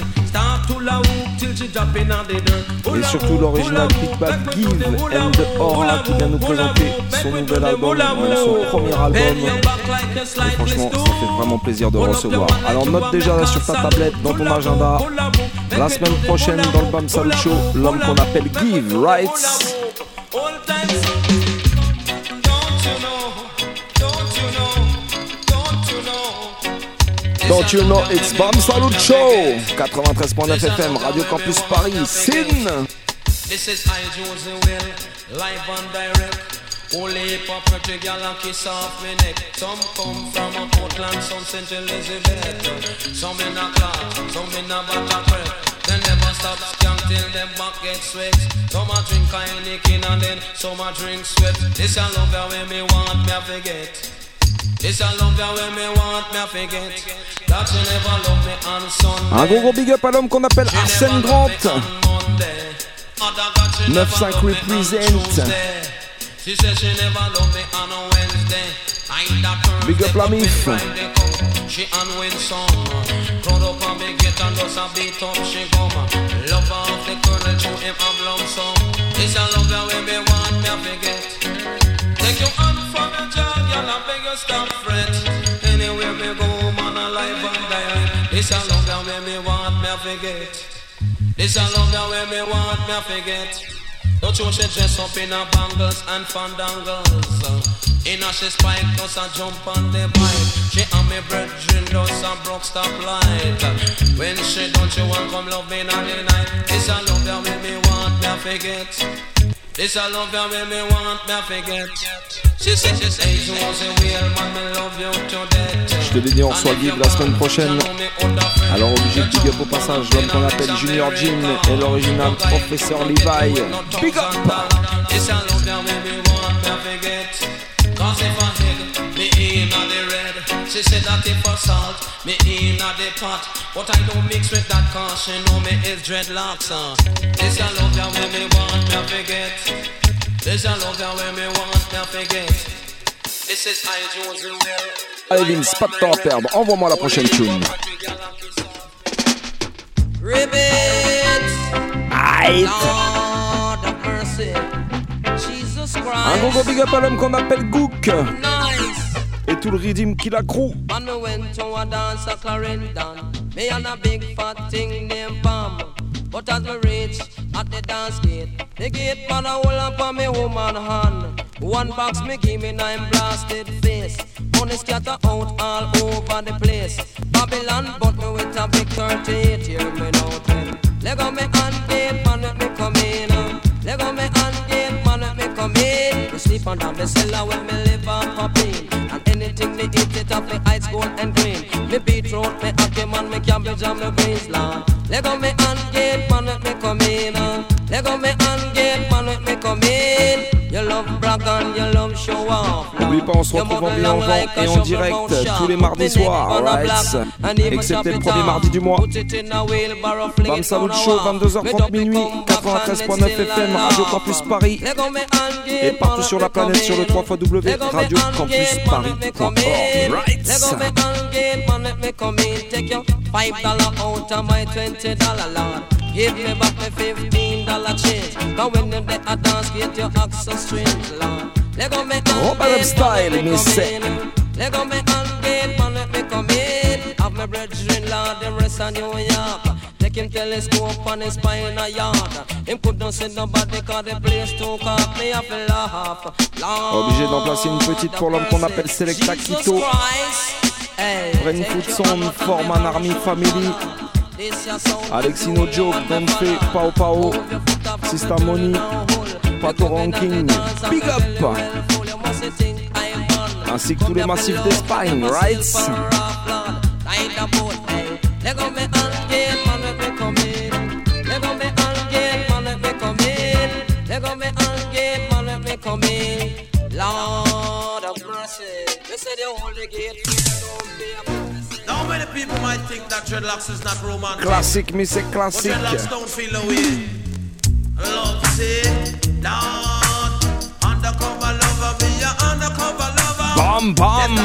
Et surtout l'original Big Bad Give and Aura qui vient nous présenter son nouvel album, son premier album. Et franchement, ça fait vraiment plaisir de recevoir. Alors note déjà sur ta tablette, dans ton agenda, la semaine prochaine dans le Bam Salut Show, l'homme qu'on appelle Give, right? Don't you know it's Bam Salut Show 93.9 FM, Radio Campus Paris, Sin. This is I, Josie Will, live and direct. Only pop pretty gal and kiss off me neck. Some come from a Portland, some St. Elizabeth. Some in a Clark, some in a Batacret. They never stop skank till them back get sweat. Some a drink Heineken and then some a drink sweat. This I love ya when me want me I forget. This I love ya when me want me I forget. That you never love me on Sunday. Un gros big up à l'homme qu'on appelle Arsène Grant. 9-5 represent. She said she never loved me on a Wednesday. Big up la mif. She unwin some. Proud up and big get and does a beat up she come. Love off the colonel to him a lump sum. This a love that when me want me I forget. Take your hand from your job, y'all I beg you stop fret. Anywhere me go man alive and direct. This a love that when me want me I forget. This a love that when me want me I forget. Don't you she dress up in her bangles and fandangles. In her she spike does a jump on the bike. She and me brethren does a broke stop light. When she don't you want come love me on the night. This a love that when me want me I forget. This a love that when me want me I forget. She say she was a real man, me love you to death. Je te l'ai dit, on reçoit Give la semaine prochaine. Alors obligé de big up au passage l'homme qu'on appelle Junior Jim et l'original Professeur Levi. Big up! This a love that when me want me I forget. Cause if I hit me in the red. She said that if I salt me in the pot. But I don't mix with that cause she know me is dreadlocks. This a love that when me want me I forget. This a love that when me want me I forget. This is I Josie Will. Allez Vince, pas de temps à perdre, envoie-moi la prochaine tune. Ribbit. Aïe. Lord of mercy. Jesus Christ. Un gros big up à l'homme qu'on appelle Gook. Nice. Et tout le rythme qu'il accroût. And me went to a dance at Clarendon. Me and a big fat thing named Pam. But as me reach at the dance gate, the gate man a hold up on me woman hand. One box me give me 9 blasted face. Money scatter out all over the place. Babylon bought me with a big 38, hear me now tell. Leg on me hand gate, man let me come in. Leg on me hand gate, man let me come in. We sleep under the cellar when me live and pop in. And anything me eat it up, me ice gold and green. Me beetroot, me ackee man, me cabbage and me greens land. Leg on me hand gate, man let me come in. Leg on me hand gate, man let me come in. You love brag and you love show off. N'oublie pas, on se retrouve en bien vent et en direct tous les mardis soirs, right? Excepté le premier mardi du mois. Bam Salut Show, 22h30 minuit, 93.9 FM, Radio Campus Paris. Et partout sur la planète sur le www.radiocampusparis.org, right? $5 out of my $20, Lord. Give me back my $15 change. Cause when them dey a dance, get your access strings, Lord. Lego me Oh, Madame Style, me say. Lego me hand gate, man, let me come in. Have my brethren, Lord, them rest on New York. Take him telescope on his spine a yard. Him couldn't see nobody cause the place too cold. Me have to laugh. Obligé d'en placer une petite pour l'homme qu'on appelle Selecta Quito. Brainfood Sound, Foreman Army Family. Alexino Joe, Benfe, Pao Pao, Sista Money, Pato Ranking, Big Up, ainsi que tous les massifs d'Espagne, right? Lord of mercy, they say the holy gate. Now many people might think that dreadlocks is not romantic. Classic, mais c'est classique. But dreadlocks don't feel the way. Love say, Lord, undercover lover, be your undercover lover. Bam Bam Bam.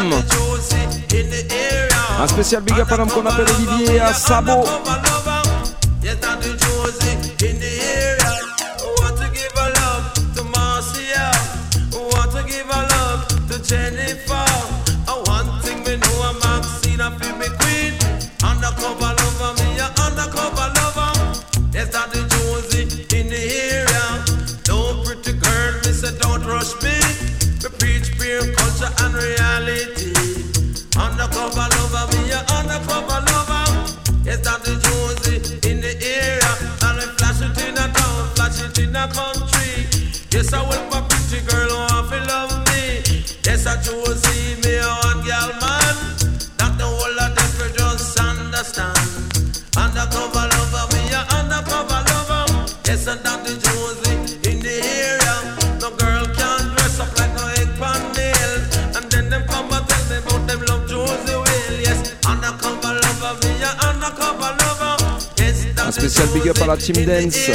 Un spécial big up à l'homme qu'on appelle Olivier à Sabo. Yes, Dr. Josie in the area. Want to give a love to Marcia. Want to give a love to Jennifer. One thing we know, I'm Maxine, I feel me queen. Undercover lover, me a undercover lover. Yes, Dr. Josie in the area. Don't pretty girl, me say don't rush me. We preach pure culture and reality. Undercover lover, me a undercover lover. Yes, Dr. Josie in the area. And I flash it in a town, flash it in a country. Yes, I will my pretty girl who want to love me. Yes, I Josie, me a one girl man. Not the whole of them we just understand. Undercover lover, me a undercover lover. Yes, and Dr. Josie in the area. No girl can dress up like no egg pan nail. And then them come and tell me about them love Josie will. Yes, undercover lover, me a undercover lover. Yes, Un spécial big up à la Team Dance.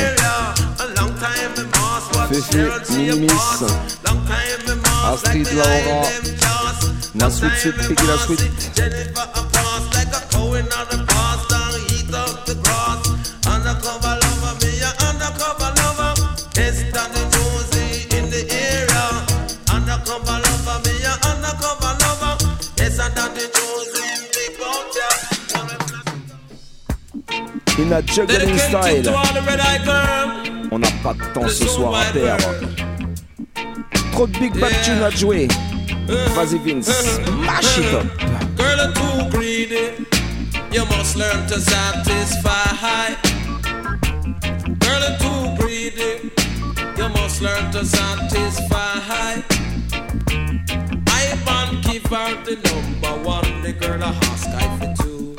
Fefe, Minimis, Astrid, Laura, La Sweet Sweet, Piggy La Sweet. Undercover lover, me a undercover lover. Yes, Dr. Josie in the area. Undercover lover, me a undercover lover. Yes, and Dr. Josie big out there. In a juggling style. On n'a pas de temps ce soir à perdre. Trop de big bad tunes à jouer. Vas-y Vince, mash it up. Girl, you're too greedy. You must learn to satisfy. Girl, you're too greedy. You must learn to satisfy. I want give her the number one. The girl a ask I for two.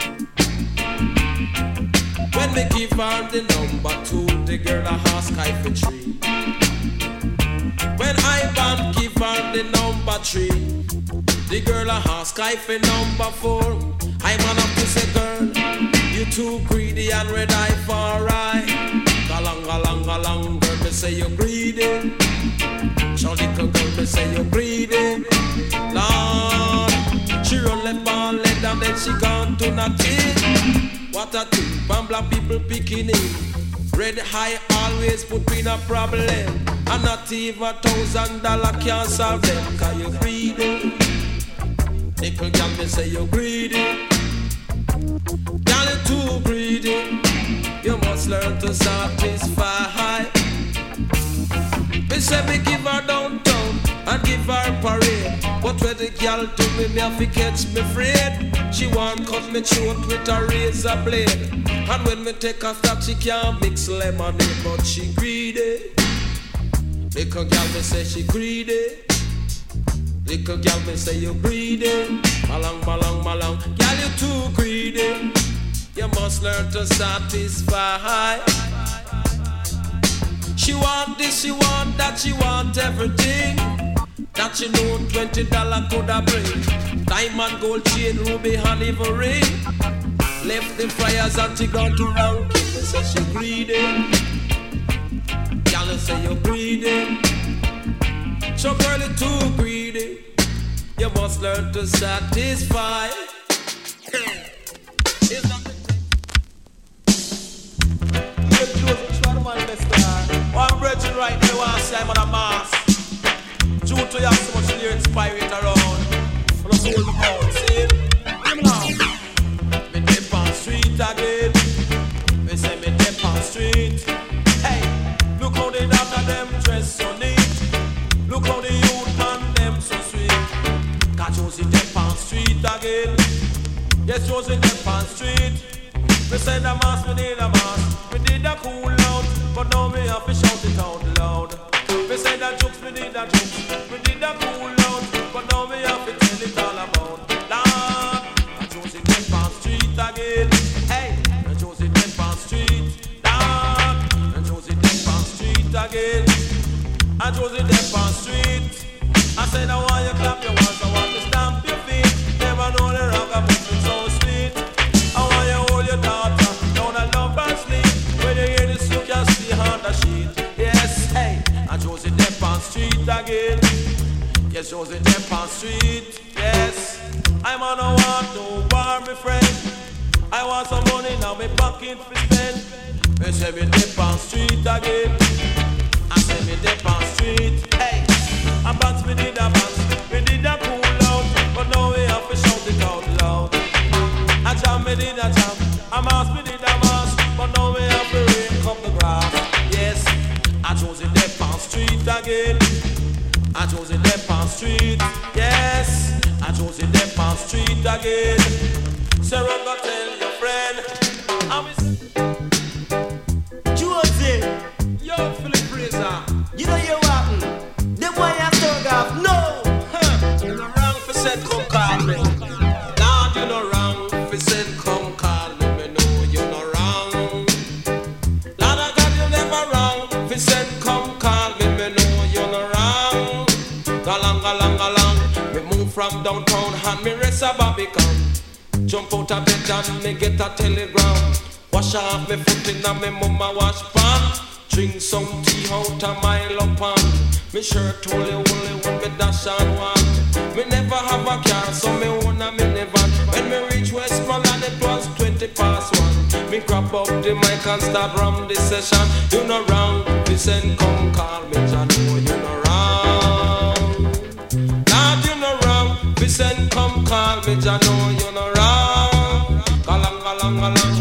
When me give her the number two, the girl a ask I for three. When I want give her the number three, the girl a ask I for number four. I man up to say, girl, you too greedy and red eye for right. Galang, galang, galang, girl, me say you greedy. Show little girl, me say you greedy. Lord, she run left on left and then she gone to nothing. What a thing, from black people picking in. Red high always put in a problem. And not even $1,000 can't solve them. Cause you greedy. Nickel girl, me say you greedy. Girl, you too greedy. You must learn to satisfy. Me say me give her downtown and give her parade. But when the girl do me have to catch me afraid. She want cut me throat with a razor blade. And when me take a stop, she can't mix lemonade. But she greedy. Little girl, me say she greedy. Little girl, me say you greedy. Malang, malang, malang. Girl, you too greedy. You must learn to satisfy. She want this, she want that, she want everything. That she know $20 could have bring. Diamond, gold chain, ruby, and even ring. Left the fryers and she gone to round. Me say she greedy. Girl, say you greedy. So girl, you too greedy. You must learn to satisfy. It's not one brethren right now want to say I'm on a mask. Due to you have so much lyrics pirate around. But I'm so old out, see? Hear me now. Me dip on street again. Me say me dip on street. Hey, look how they doctor them dress so neat. Look how the youth man them so sweet. Cause Josie dip on street again. Yes, Josie dip on street. Me say the mask, me need a mask. Me did a cool out, but now me have to shout it out loud. Me say the jokes, me need a jokes. Me did a cool out, but now me have to tell it all about. Lord, and Josie dead on street again. Hey, and Josie dead on street. Lord, and Josie dead on street again. And Josie dead on street. I said I want you clap your hands, I want you stamp your feet. Never know the rock of it so sweet. I want you hold your daughter, down and love and sleep. When you hear this, you can see on the sheet. Yes, hey, and Josie dead on street again. Yes, Josie dead on street. Yes, I'm on a war, no war, my friend. I want some money now, my pocket for spend. Me say me dip on street again. I say me dip on street. Hey, I bounce, me did a bounce, me did a cool out, but now we have to shout it out loud. I jam, me did a jam, I mass, me did a mass, but now we have to rake up the grass. Yes, I chose it dip on street again. I chose it dip on street. Yes, I chose it dip on street again. So run go tell your friend. Josie, yo, Philip Fraser. You know you happen. The boy has dug off. No, you no wrong for said come call me. Lord, you no wrong for said come call me. Me know you no wrong. Lord, I got you never wrong for said come call me. Me know you no wrong. Galang, galang, galang. Me move from downtown and me rest a Barbican. Jump out of bed and me get a telegram. Wash off me foot in a me mama wash pan. Drink some tea out of my lumpan. Me shirt only when me dash on one. Me never have a car so me own a minivan. When me reach Westmoreland it was 20 past 1. Me grab up the mic and start ram the session. You no wrong, me send come call me John. No, you no wrong. Lord, you no wrong, me send come call me John. No, you no wrong. Galang, galang, galang.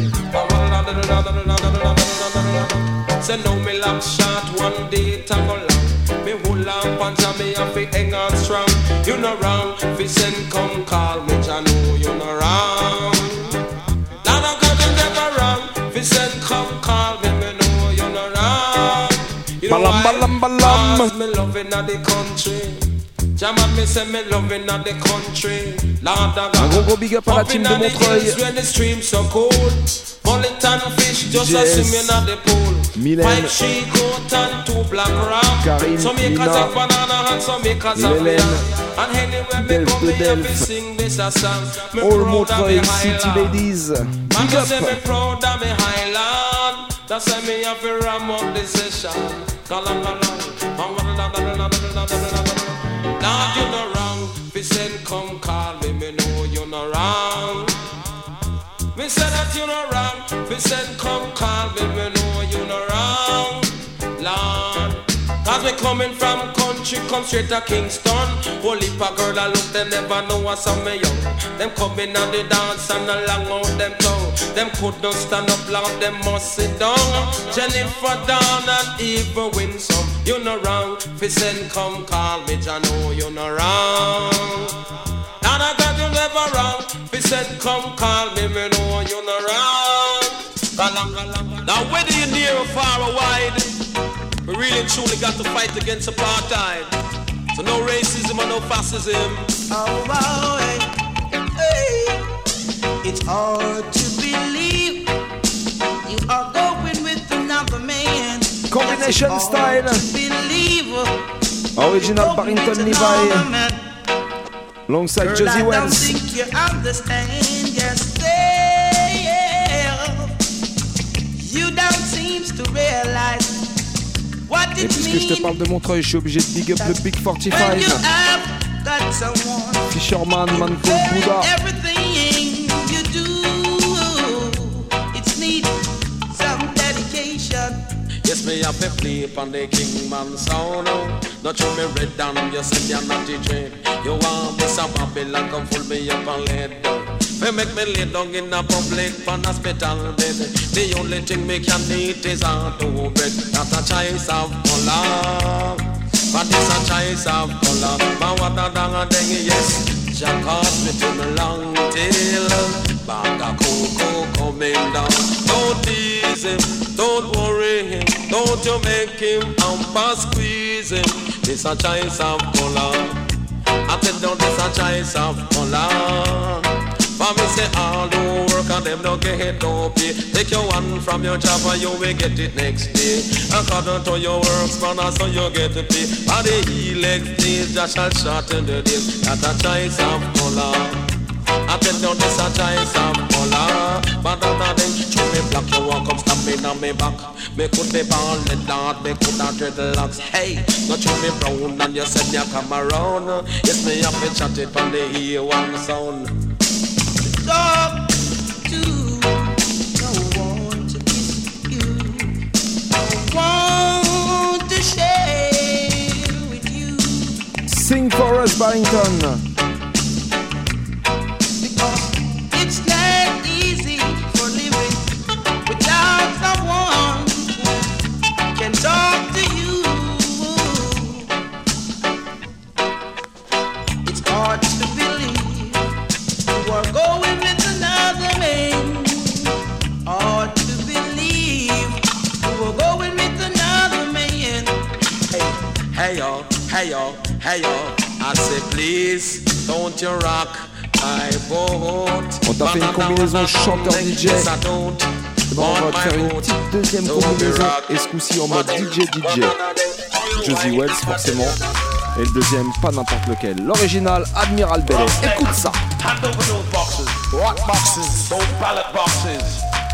Say no me lock shot one day it a go long. Me hold on punch and me have to hang on strong. You no wrong, fi send come call me Jah know you no wrong. Lord of God you never wrong, fi send come call me, me know you no wrong. You know why? Cause me loving at the country. Jaman me say me loving at the country. Lord of God, un gros big up à la team de Montreuil. When the streams so cold. Bulletin fish just a swimming at the pool. Mylène, 5 she goat and 2 black ram. Karine, Some make us Lina, a banana and some make us a Hélène, lamb. And anywhere me come me have to sing this a song. Me All proud of me Montreuil City Highland. ladies. Man Big just say me up. proud of me Highland. That's why me have to ram up the session. Galang galang. Lord you no wrong. Fi send come call me. Me know you no wrong. Me say that you no wrong. Fi send come call me. Me know you no wrong. Lord, cause me coming from country, come straight to Kingston. Whole heap of girl I look, they never know what's on me young. Them coming on the dance and along out them tongue. Them couldn't stand up loud, them must sit down. Jennifer Dawn and even Winsome. You no wrong. Fi send come call me, Jah know you no wrong. And I got you never wrong. Fi send come call me, me know you no wrong. Now whether you're near or far or wide, we really and truly got to fight against apartheid. So no racism or no fascism. Oh, hey. It's hard to believe you are going with another man. Combination style. Original Barrington Levi. Alongside Josie I don't Wells. think you understand yourself. You don't seem to realize what Et it puisque je te means parle de Montreuil, je suis obligé de big up le Big when you 45. have got someone. Fisherman, Man Called Buddha. Everything you do, it's need some dedication. Yes, me have to play upon the Kingman sound. Not you me red down, you say you're not the dread. You want this a Babylon, come full me up and let down. They make me lay down in a public pan hospital bed. The only thing me can eat is hard to bread. Not a choice of color, but it's a choice of color. But what a dang a dang, yes. Jack caught me to the long tail. Bag of cocoa coming down. Don't tease him, don't worry him. Don't you make him amper squeeze him. It's a choice of color. I tell you this a choice of color. For me say all who work and them don't get no pay. Take your one from your job and you will get it next day. According to your works, man, so you get to pay. For the elect days, just shall shorten the days. That's a choice of color. I tell you this a choice of color. But other than show me black, you won't come stop me on me back. Me could be bald, me could have dreadlocks. Hey, not show me brown and you said you come around. Yes, me have to chat it on the E1 sound. Talk to no one to kiss you. No one to share with you. Sing for us, Barrington. It's not easy for living without someone who can talk to you. It's hard to believe you are going with another man. Hard to believe you are going with another man. Hey yo, hey yo, hey yo. I say please, don't you rock. On t'a fait une combinaison chanteur-DJ. Bon, on va te faire une petite deuxième combinaison, et ce coup-ci en mode DJ. Josie Wells forcément. Et le deuxième, pas n'importe lequel. L'original, Admiral Bellet. Écoute ça. Hand over those boxes. What boxes? Those ballot boxes.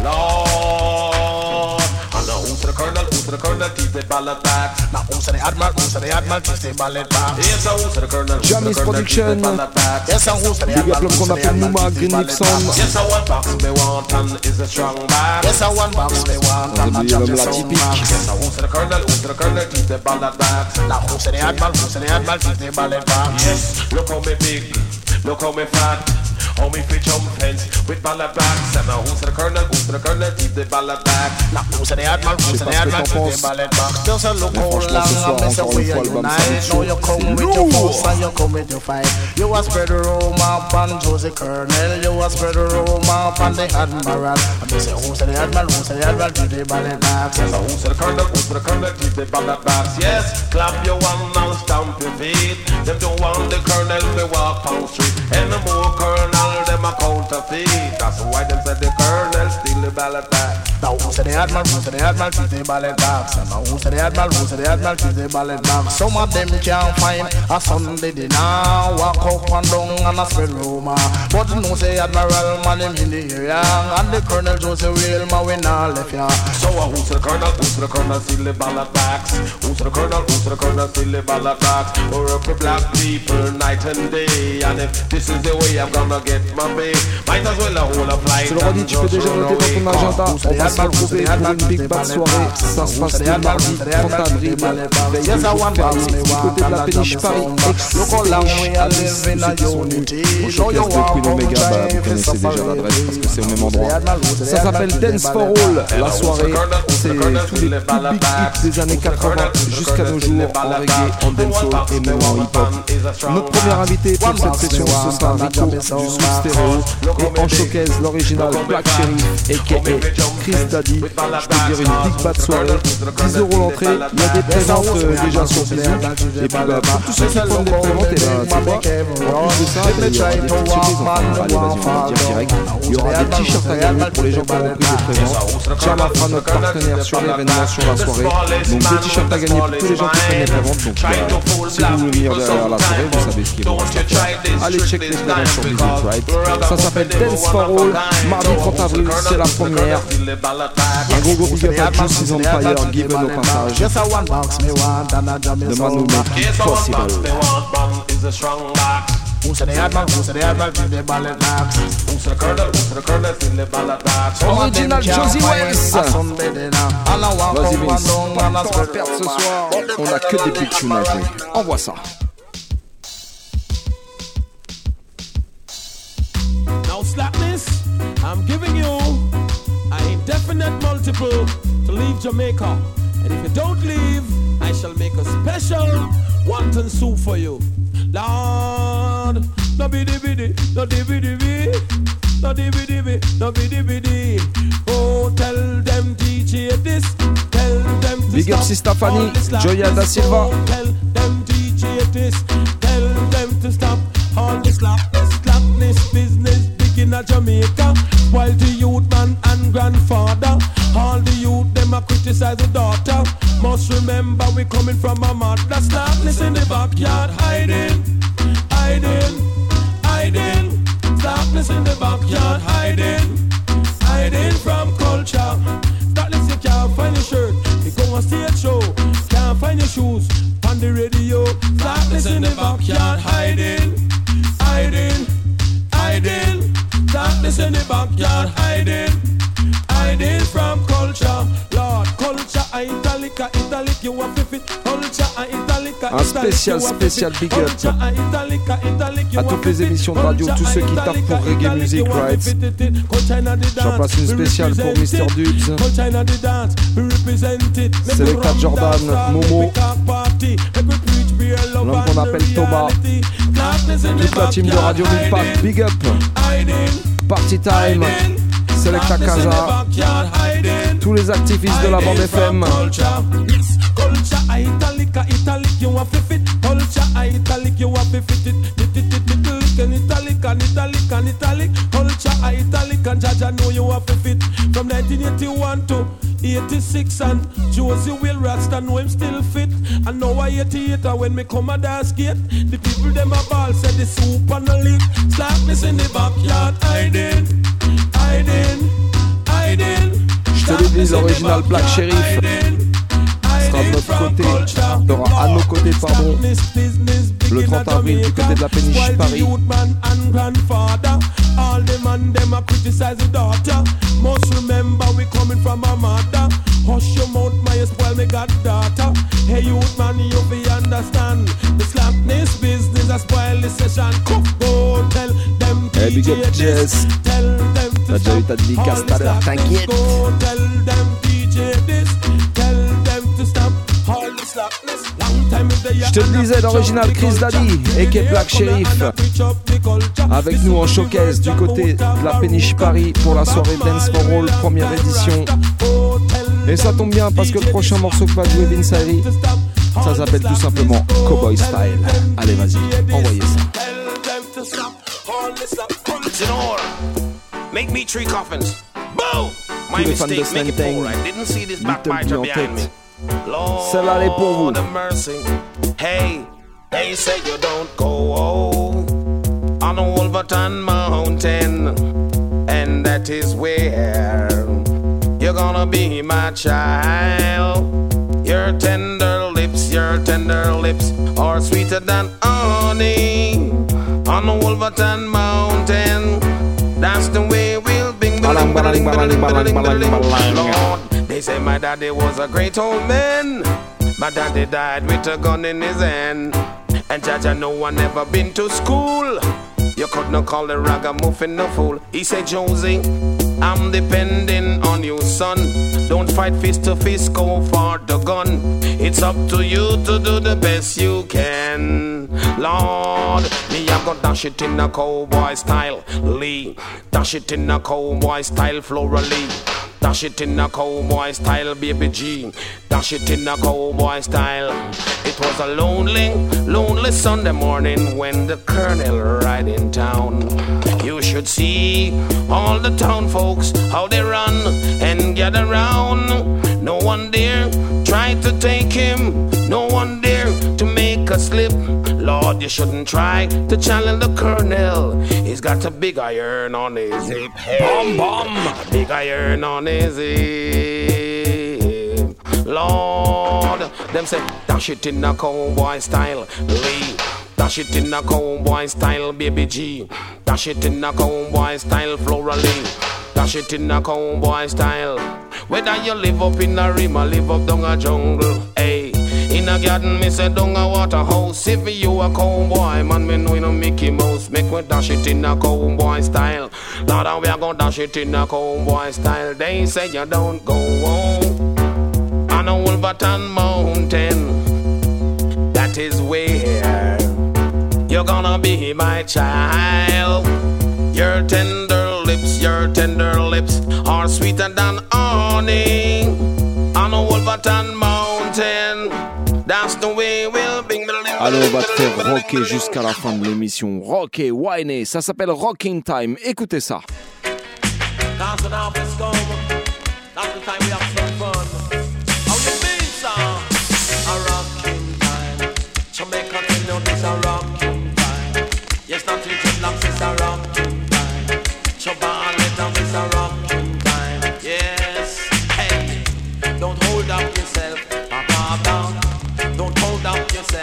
Lord. And now who's the colonel, keep the ballot back. Now who's the admiral, keep the ballot back. Yes, who's the colonel, Jamis Production. Yes, who's the big up l'homme qu'on appelle Nouma, Green Nixon. Yes, one box me want and is a strong man. Yes, one box me want and a l'homme la typique. Yes, who's the colonel, keep the ballot back. Now who's the admiral, keep the ballot back. Yes, look how me big, look how me fat. How me fit jump fence with ballot backs. And now who's the colonel, keep the ballot back. Now who's the admiral, keep the ballot back. Just a look how long and miss away you unite. Now you come with your force and you come with your fight. You a spread the rumor upon Josie Colonel. You a spread the rumor upon the admiral. And they say who's the admiral, keep the ballot back. Yes, who's the colonel, keep the ballot backs. Yes, clap your one and stamp your feet. Them don't want the colonel to walk on street. And the more colonel them a counterfeit. That's why them said the colonel steal the ballot back. Now who's the admiral, keep the ballot back. And now who's the admiral, keep the ballot back. Some of them can't find a Sunday dinner. Walk up and down and a spread rumor. But you know say admiral man him in the area. And the colonel Joseph Wilma we not left ya. So who's the colonel, steal the ballot backs. Who's the colonel, steal the ballot backs. We're up for black people night and day. And if this is the way I'm gonna get my pay, might as well a whole of life. Je le redis, tu peux déjà noter dans ton agenda. On va se retrouver pour une big bad soirée. Ça se passe le mardi 30 avril. Veillez à vous faire du côté de la péniche Paris. Au podcast de Queen Omega, vous connaissez déjà l'adresse parce que c'est au même endroit. Ça s'appelle Dance for All. La soirée, c'est tous les big hits des années 80 jusqu'à nos jours en reggae, en dancehall et même en hip-hop. Notre premier invité pour cette session, ce sera Rico du Sous Stéréo et en showcase l'original Black Sheriff aka Chris Daddy. Je peux dire une big bad soirée, 10 € l'entrée, il y a des préventes déjà sur Bisou. Et puis pour tous ceux qui prennent des préventes, et tu vois, en plus de ça, il y aura des petites surprises, allez vas-y on va le dire direct. Il y aura des t-shirts à gagner pour les gens qui ont repris des préventes. Chama fera notre partenaire sur l'événement, sur la soirée. Donc des t-shirts à gagner pour tous les gens qui prennent les préventes. Donc si vous voulez venir derrière la soirée, vous savez ce qu'il va se faire. Allez check les préventes sur Bisou Tribe. Ça s'appelle Dance for All, mardi 30 avril, c'est la première. Un gros big up à Juice is on fire, given au passage. The man who make it possible. Who's the admiral, keep the ballot back. Who's the colonel, steal the ballot back. Original Josie Wells. Vas-y Vince, on va perdre ce soir. On a que des big tunes à jouer. Envoie ça. Now slackness, I'm giving you an indefinite multiple to leave Jamaica. And if you don't leave, I shall make a special wonton soup for you. Lord, no biddy biddy, no dibby dibby, no dibby dibby, no biddy biddy. Oh, tell them DJ this, tell them to Big up Sister Fanny, Joya da Silva. Oh, tell them DJ this, tell them to stop all this slackness business big in Jamaica. While the youth man and grandfather, all the youth them a criticize the daughter. Must remember we coming from a mother. Slackness in the backyard, hiding, hiding, hiding. Slackness in on the radio. Darkness in the backyard, hiding, hiding, hiding. Darkness in the backyard, hiding, hiding from culture. Lord, culture, italic, italic, you want to fit. Culture, italic, un spécial big up à toutes les émissions de radio, tous ceux qui tapent pour Reggae Music Rights. J'en passe une spéciale pour Mr. Dubs, Selecta Jordan, Momo, l'homme qu'on appelle Thomas, toute la team de Radio Milpac, big up, Party Time, Selecta Kaza, tous les activistes de la bande FM. Culture, italic, you want to fit. Culture, italic, you want to fit it. Italic, culture, italic, and Jaja know you want to fit. From 1981 to 86, and Josie Will Rasta know him still fit. And now I 88, when me come a dance gate, the people them a ball said the soup and the leak. Slackness in the backyard, hiding, hiding, hiding. Je te le dis, l'original Black Sheriff sera de notre côté, sera à nos côtés, pardon, le 30 avril du côté de la péniche Paris. All the man them a criticize the daughter. Must remember we coming from a mother. Hush your mouth, my spoil me goddaughter. Hey youth man, you be understand. The slackness business a spoil the session. Go tell them hey, big up Jess. Tell them to t'as déjà eu ta dédicace tout à l'heure, t'inquiète. Go tell them DJ this. Tell them to stop all the slackness. Je te le disais, l'original Chris Daddy et Black Sheriff avec nous en showcase du côté de la péniche Paris pour la soirée Dance for All première édition. Et ça tombe bien parce que le prochain morceau que va jouer Vince Ayri, ça s'appelle tout simplement Cowboy Style. Allez vas-y, envoyez ça. Make me 3 coffins. Boom! Tous les fans de Slantang, Little P en tête. Celle-là elle est pour vous. Hey, they say you don't go on Wolverton Mountain, and that is where you're gonna be my child. Your tender lips are sweeter than honey on Wolverton Mountain. That's the way we'll be. Lord, they say my daddy was a great old man. My daddy died with a gun in his hand. And Jaja no one never been to school. You could not call the ragamuffin no fool. He said, Josie, I'm depending on you, son. Don't fight fist to fist, go for the gun. It's up to you to do the best you can. Lord, me I go dash it in a cowboy style, Lee. Dash it in a cowboy style, Flora Lee. Dash it in a cowboy style, Baby G. Dash it in a cowboy style. It was a lonely, lonely Sunday morning when the colonel ride in town. You should see all the town folks, how they run and gather round. No one dare try to take him. No one dare to make a slip. Lord, you shouldn't try to challenge the colonel. He's got a big iron on his hip. Hey, bomb, bomb. A big iron on his hip. Lord, them say, dash it in a cowboy style, Lee. Dash it in a cowboy style, Baby G. Dash it in a cowboy style, Flora Lee. Dash it in a cowboy style. Whether you live up in a rim or live up down a jungle, hey. In a garden, me say down a waterhouse. If you a cowboy, man, me know you no Mickey Mouse. Make we dash it in a cowboy style. Lord, we a gonna dash it in a cowboy style. They say you don't go home on a Wolverton Mountain. That is where you're gonna be my child. Your tender lips are sweeter than honey on a Wolverton Mountain. That's the way we'll be. Allez, on va te faire rocker jusqu'à la fin de l'émission. Rocker, whiner, ça s'appelle Rocking Time. Écoutez ça. That's the time we have some fun. How you mean, sir? A rocking time. Jamaica tell you this a rocking time. Yes, not to dreadlocks, it's a rocking time. Chuba and Letam, it's a rocking time. Yes, hey, don't hold up yourself, Papa, don't hold up yourself.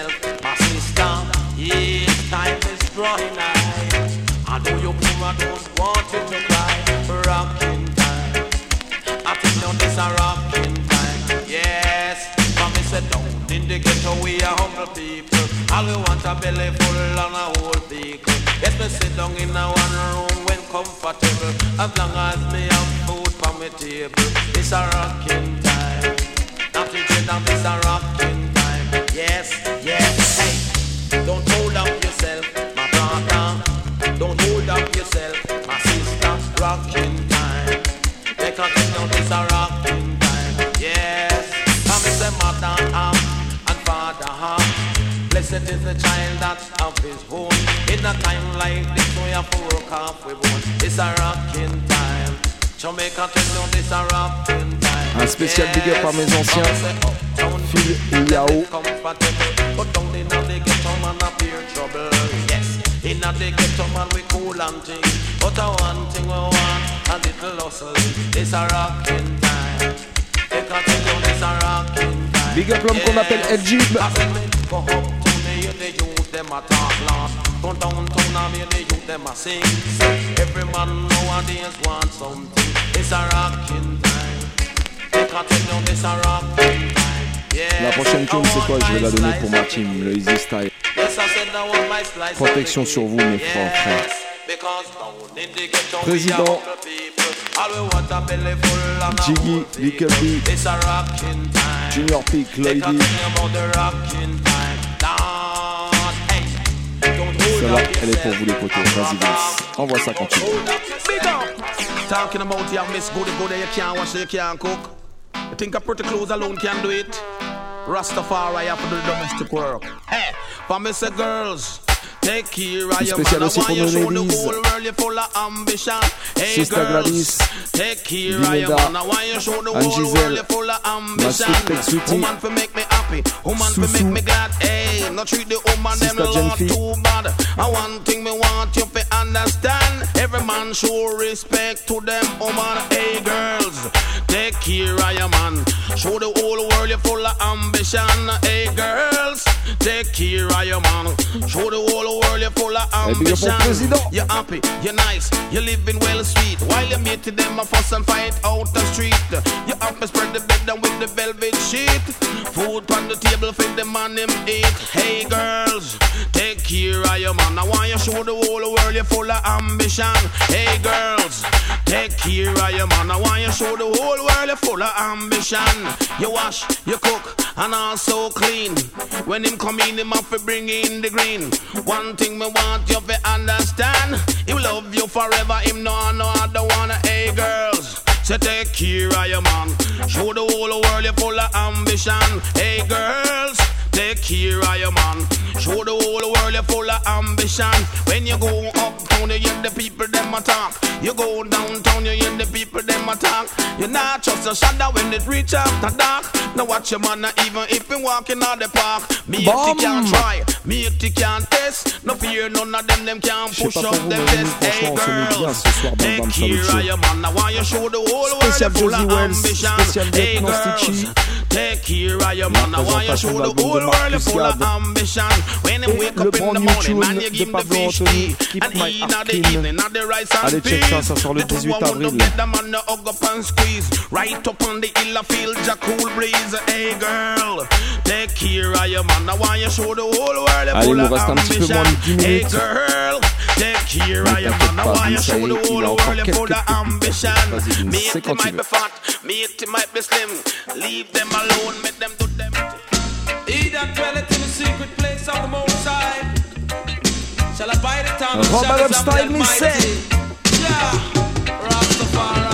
night. I know you poor and don't want it to cry. Rocking time. I think now this a rocking time. Yes, for me say down in the ghetto we are humble people. All we want a belly full on a whole vehicle. Yes, me sit down in a one room when comfortable. As long as me have food on my table. It's a rocking time. Not to get down, it's a rocking time. Yes, yes, hey. Don't hold up yourself, my brother. Don't hold up yourself, my sister. Rocking time. Take a thing down, it's a rocking time. Yes, come and say mother and father. Blessed is the child that's of his home. In a time like this, we have to work off we won't. It's a rocking time. Jamaica tell you this a rocking time. Un spécial big up à mes anciens, Phil et Yao. But down in the ghetto man appear trouble. Yes, in the ghetto man we cool and things. But a one thing we want, a little hustle. It's a rocking time. They can tell you this a rocking time. Big up l'homme qu'on appelle El Jib. Go up to me, the youth them a talk loud. Go downtown and me the youth them a sing. Every man nowadays want something. It's a rocking time. They can tell you this a rocking time. La prochaine tune c'est quoi? Je vais la donner pour ma team, le Easy Style. Protection sur vous mes frères. Président Jiggy, Little B, Junior Peak, Lady. Celle-là, elle est pour vous les potos. Vas-y, Vince. Envoie ça quand tu veux. Talking about your miss goody goody, you can't wash it, you can't cook. You think a pretty clothes alone can do it? Rastafari have to do the domestic work. Hey, for me say girls, take care of your man. I want you show the whole world you're full of ambition. Hey girls, take care of your man. I want you show the whole world you're full of ambition. Woman for make me happy, woman for make me glad. Hey, not treat the woman them lot too bad. And one thing me want you to understand, every man show respect to them woman. Hey girls, take care of your man. Show the whole world you're full of ambition. Hey girls, take care of your man. Show the whole world you're full of ambition. You're happy, you're nice, you're living well sweet. While you meet them a fuss and fight out the street. You have to spread the bed down with the velvet sheet. Food on the table for the man him eat. Hey girls, take care of your man. I want you show the whole world you're full of ambition. Hey girls, take care of your man. I want you show the whole world you're full of ambition. You wash, you cook, and also clean. When him come in, him have to bring in the green. One thing me want you to understand, he will love you forever, him no other one. Hey girls, so take care of your man. Show the whole world you're full of ambition. Hey girls, take care of your man. Show the whole world you're full of ambition. When you go uptown, you hear the people them attack. You go downtown, you hear the people them attack. You're not just a shadow when it reach after dark. Now watch your man, even if you walking out the park. Me if you can't try, me if you can't test. No fear, none of them can push up them test. Hey girls, take care of your man. Now why you show the whole world you're full of ambition. Hey girls, take care of your man. Now why you show the whole world you're full of ambition. When you wake up in the morning, man, you give him the fish tea. And eat at the evening, at the rice and peas. Ça sort le 18 avril. Right up on the hill, I feel the cool breeze. Hey girl, take care of your man. I want you show the whole world you're full of ambition. Hey girl, take care of your man. I want you show the whole world you're full of ambition. Mate, he might be fat, mate, he might be slim. Leave them alone, make them do them. He that dwelleth in the secret place of the Most High shall abide the time of the style me say. Yeah, Rastafari.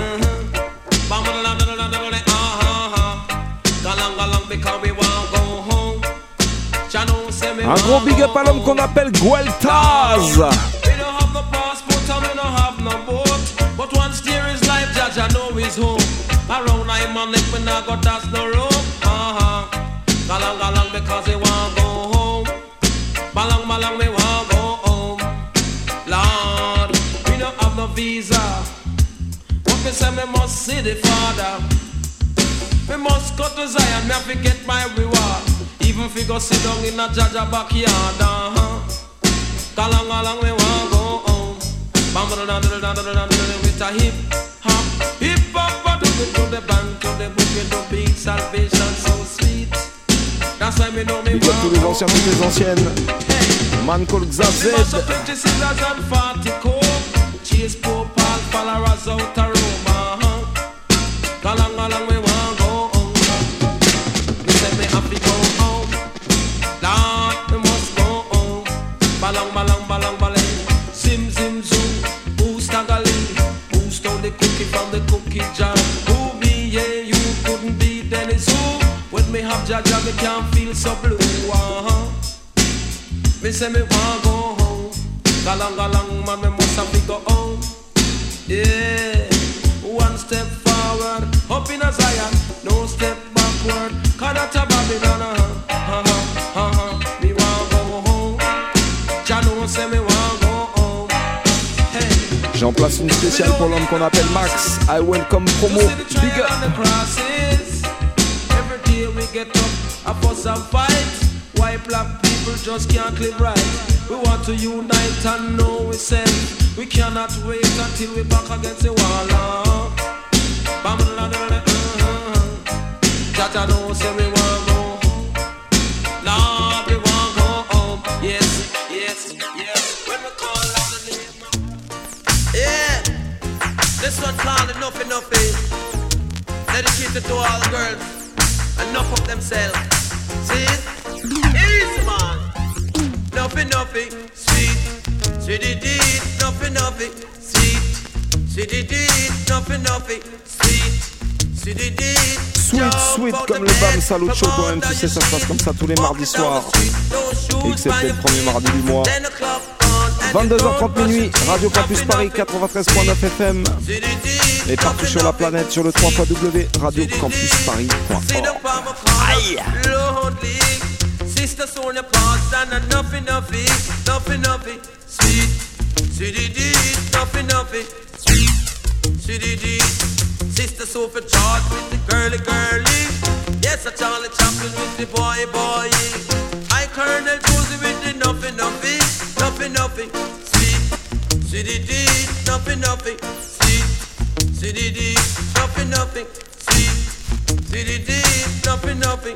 Un gros big up à l'homme qu'on appelle Gueltaz. We don't have no passport and we don't have no boat, but once there is life, Judge, I know his home. Around I'm on it, we not got that's no room. Galang because we want go home. Balang we want go home. Lord, we don't have no visa. What me say, me must see the Father. We must go to Zion, me have to get my reward. Even if we go sit down in a Jaja backyard, Along we want go home. Bam with a hip hop, to the bank, to the book, to big salvation, so sweet. That's why me know me big up tous les anciens, toutes les anciennes. Man called Xav Z. Chase poor pal, followers out a room. Along we want go home. Me say me have to go home. Lord, we must go home. Balang. Zim zoom. Who's tagging? Who stole the cookie from the cookie jar? Who me? Yeah, you couldn't be Dennis. Who? When me have Jaja, me can't feel so blue. Me say me want go home. Galang, man, me must have to go home. Yeah, one step forward, up in a Zion, no step backward. Kanata Babylon, me want go home. Jano say me want go home. Hey. J'en place une spéciale pour l'homme qu'on appelle Max. I welcome promo. Big up. Every day we get up, I fuss and fight. Why black people just can't live right? We want to unite and know we send. We cannot wait until we back against the wall. Jaja know say we want go home. Lord, we want go home. Yes. When we call out the name. Yeah. This one called enough. Dedicated to all girls. Enough of themselves. See it? Easy man. Nothing, sweet. Nothing, sweet. Sweet comme le Bam Salut Show, toi-même tu sais, ça se passe comme ça tous les mardis soirs, excepté le premier mardi du mois. 22h30 minuit, Radio Campus Paris 93.9 FM et partout sur la planète sur le 3xw.radiocampusparis.org. Aïe. Sisters on your past and nothing, sweet, nothing, sweet, Sisters over charge with the girly. Yes, a Charlie Chaplin with the boy. I Colonel Josie with the nothing, sweet, nothing, sweet, nothing, sweet, nothing.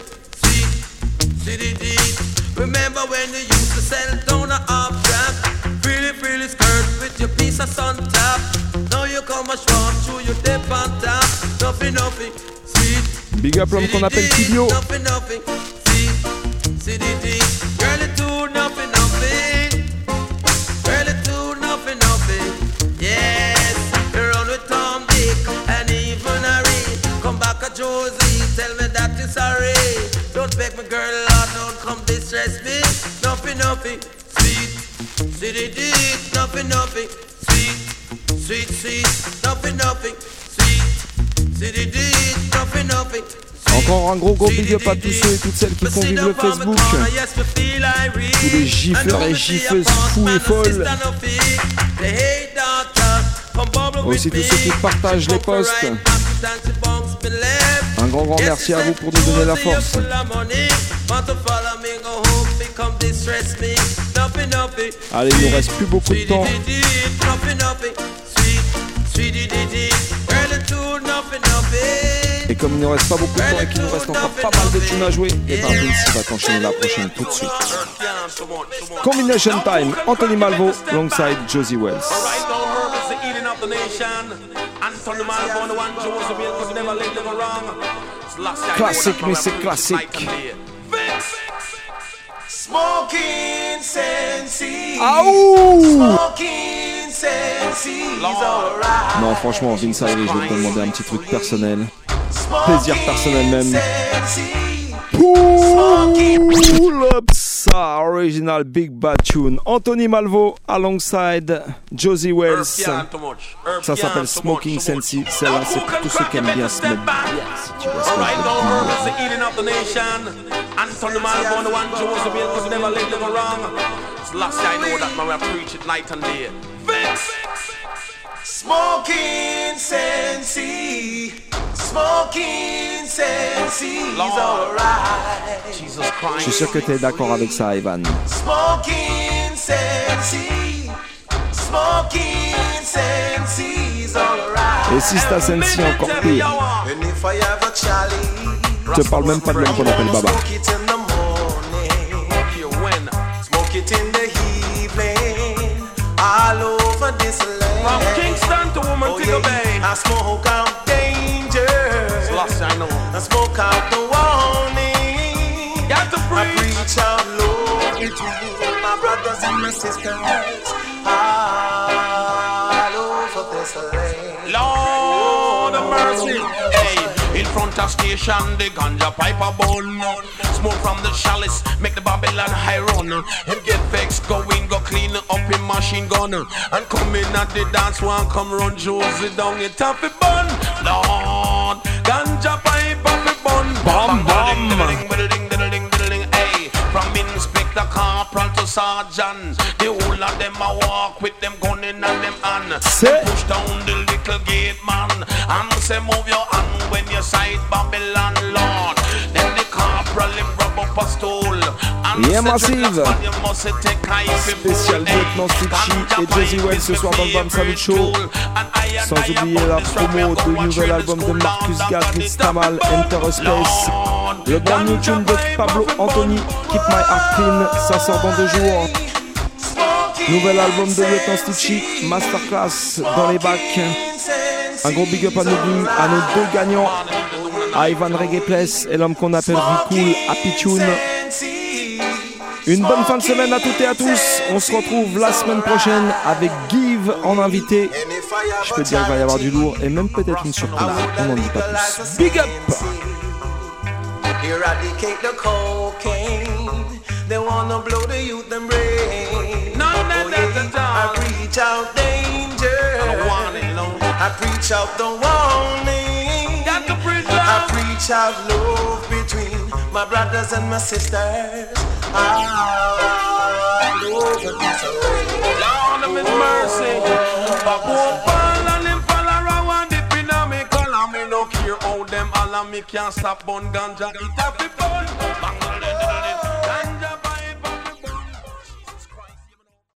Remember when you used to sell down a half track, frilly skirt with your piece of sun top. Now you come a strong through your dip on top. Nothing, sweet. Big up l'homme qu'on appelle Tibio. Nothing, sweet. Girl, it do nothing. Girl, it do nothing. Yes, you run with Tom, Dick, and even Harry. Come back a Josie, tell me that you're sorry. Don't beg me, girl, Lord, don't come distress me. Nothing, sweet, nothing, sweet, nothing, sweet, nothing. Encore un gros big up à tous ceux et toutes celles qui font vivre le Facebook. Tous les gifleurs et gifleuses fous et folles. Aussi tous ceux qui partagent les posts. Un grand merci à vous pour nous donner la force. Allez, il nous reste plus beaucoup de temps. Et comme il ne reste pas beaucoup de temps et qu'il nous reste encore pas mal de tunes à jouer, et ben Vince va t'enchaîner la prochaine tout de suite. Combination Time, Anthony Malvo, alongside Josie Wells. Classique, mais c'est classique. Smoking sensi. Smoking sensi. Non, franchement, Vince Ayri, je vais te demander un petit truc personnel. Plaisir personnel même. Pull up ça, original Big Bad Tune. Anthony Malvo alongside Josie Wells. Ça s'appelle Smoking Sensi. Celle-là, c'est pour tous ceux qui aiment bien se mettre bien. Si tu vois ce que je veux dire. Anthony Malvo and the one Josie Wells, cause never let them wrong. It's last I know that man, I preach it night and day. Smoking sensi. Smoking sensi is alright. Je suis sûr que tu es d'accord avec ça, Ivan. Smoking Sensi, smoking sensi's alright. Et si c'est à Sensi, encore pire. Je te parle même pas de l'homme qu'on appelle Baba. Smoke it in the evening, all over this land. From Kingston to Montego Bay, I smoke out danger. I know. I smoke out the warning. Got to I preach out love between my brothers and my sisters all over this land. Lord of mercy. Hey, in front of station, the ganja pipe a bun. Smoke from the chalice, make the Babylon high run. Him get vexed, go in, go clean up him machine gun. And come in at the dance one, come run Josie down, it off a bun. Lord, ganja pipe off a bun. Bam, bam. Hey, from Inspector Corporal to Sergeant, the whole of them a walk with them gun in and them hand. Push down the little gate man, and say move your hand when you sight Babylon, Lord. Then the corporal him grab up a stool. Yeah, massive. Spécial lieutenant Stitchy et Jazzy Wells ce soir dans le Bam Salut Show. Sans oublier la promo du nouvel album de Marcus Gad, Nitstamal, Enter a Space. Le brand new tune de Pablo Anthony, Keep My Heart Clean, ça sort dans 2 jours. Nouvel album de lieutenant Stitchy, Masterclass dans les bacs. Un gros big up à nos deux gagnants, à Ivan Reggae Place et l'homme qu'on appelle Ricool, Happy Tune. Une bonne fin de semaine à toutes et à tous. On se retrouve la semaine prochaine avec Give en invité. Je peux te dire qu'il va y avoir du lourd et même peut-être une surprise. On n'en dit pas plus. Big up! Eradicate the cocaine. They wanna blow the youth and brain. I preach out danger. I preach out the warning. I preach out love between my brothers and my sisters. Lord of His mercy. And him follow around the pinnacle. Me no care how them all me can't stop bun ganja. It have to burn.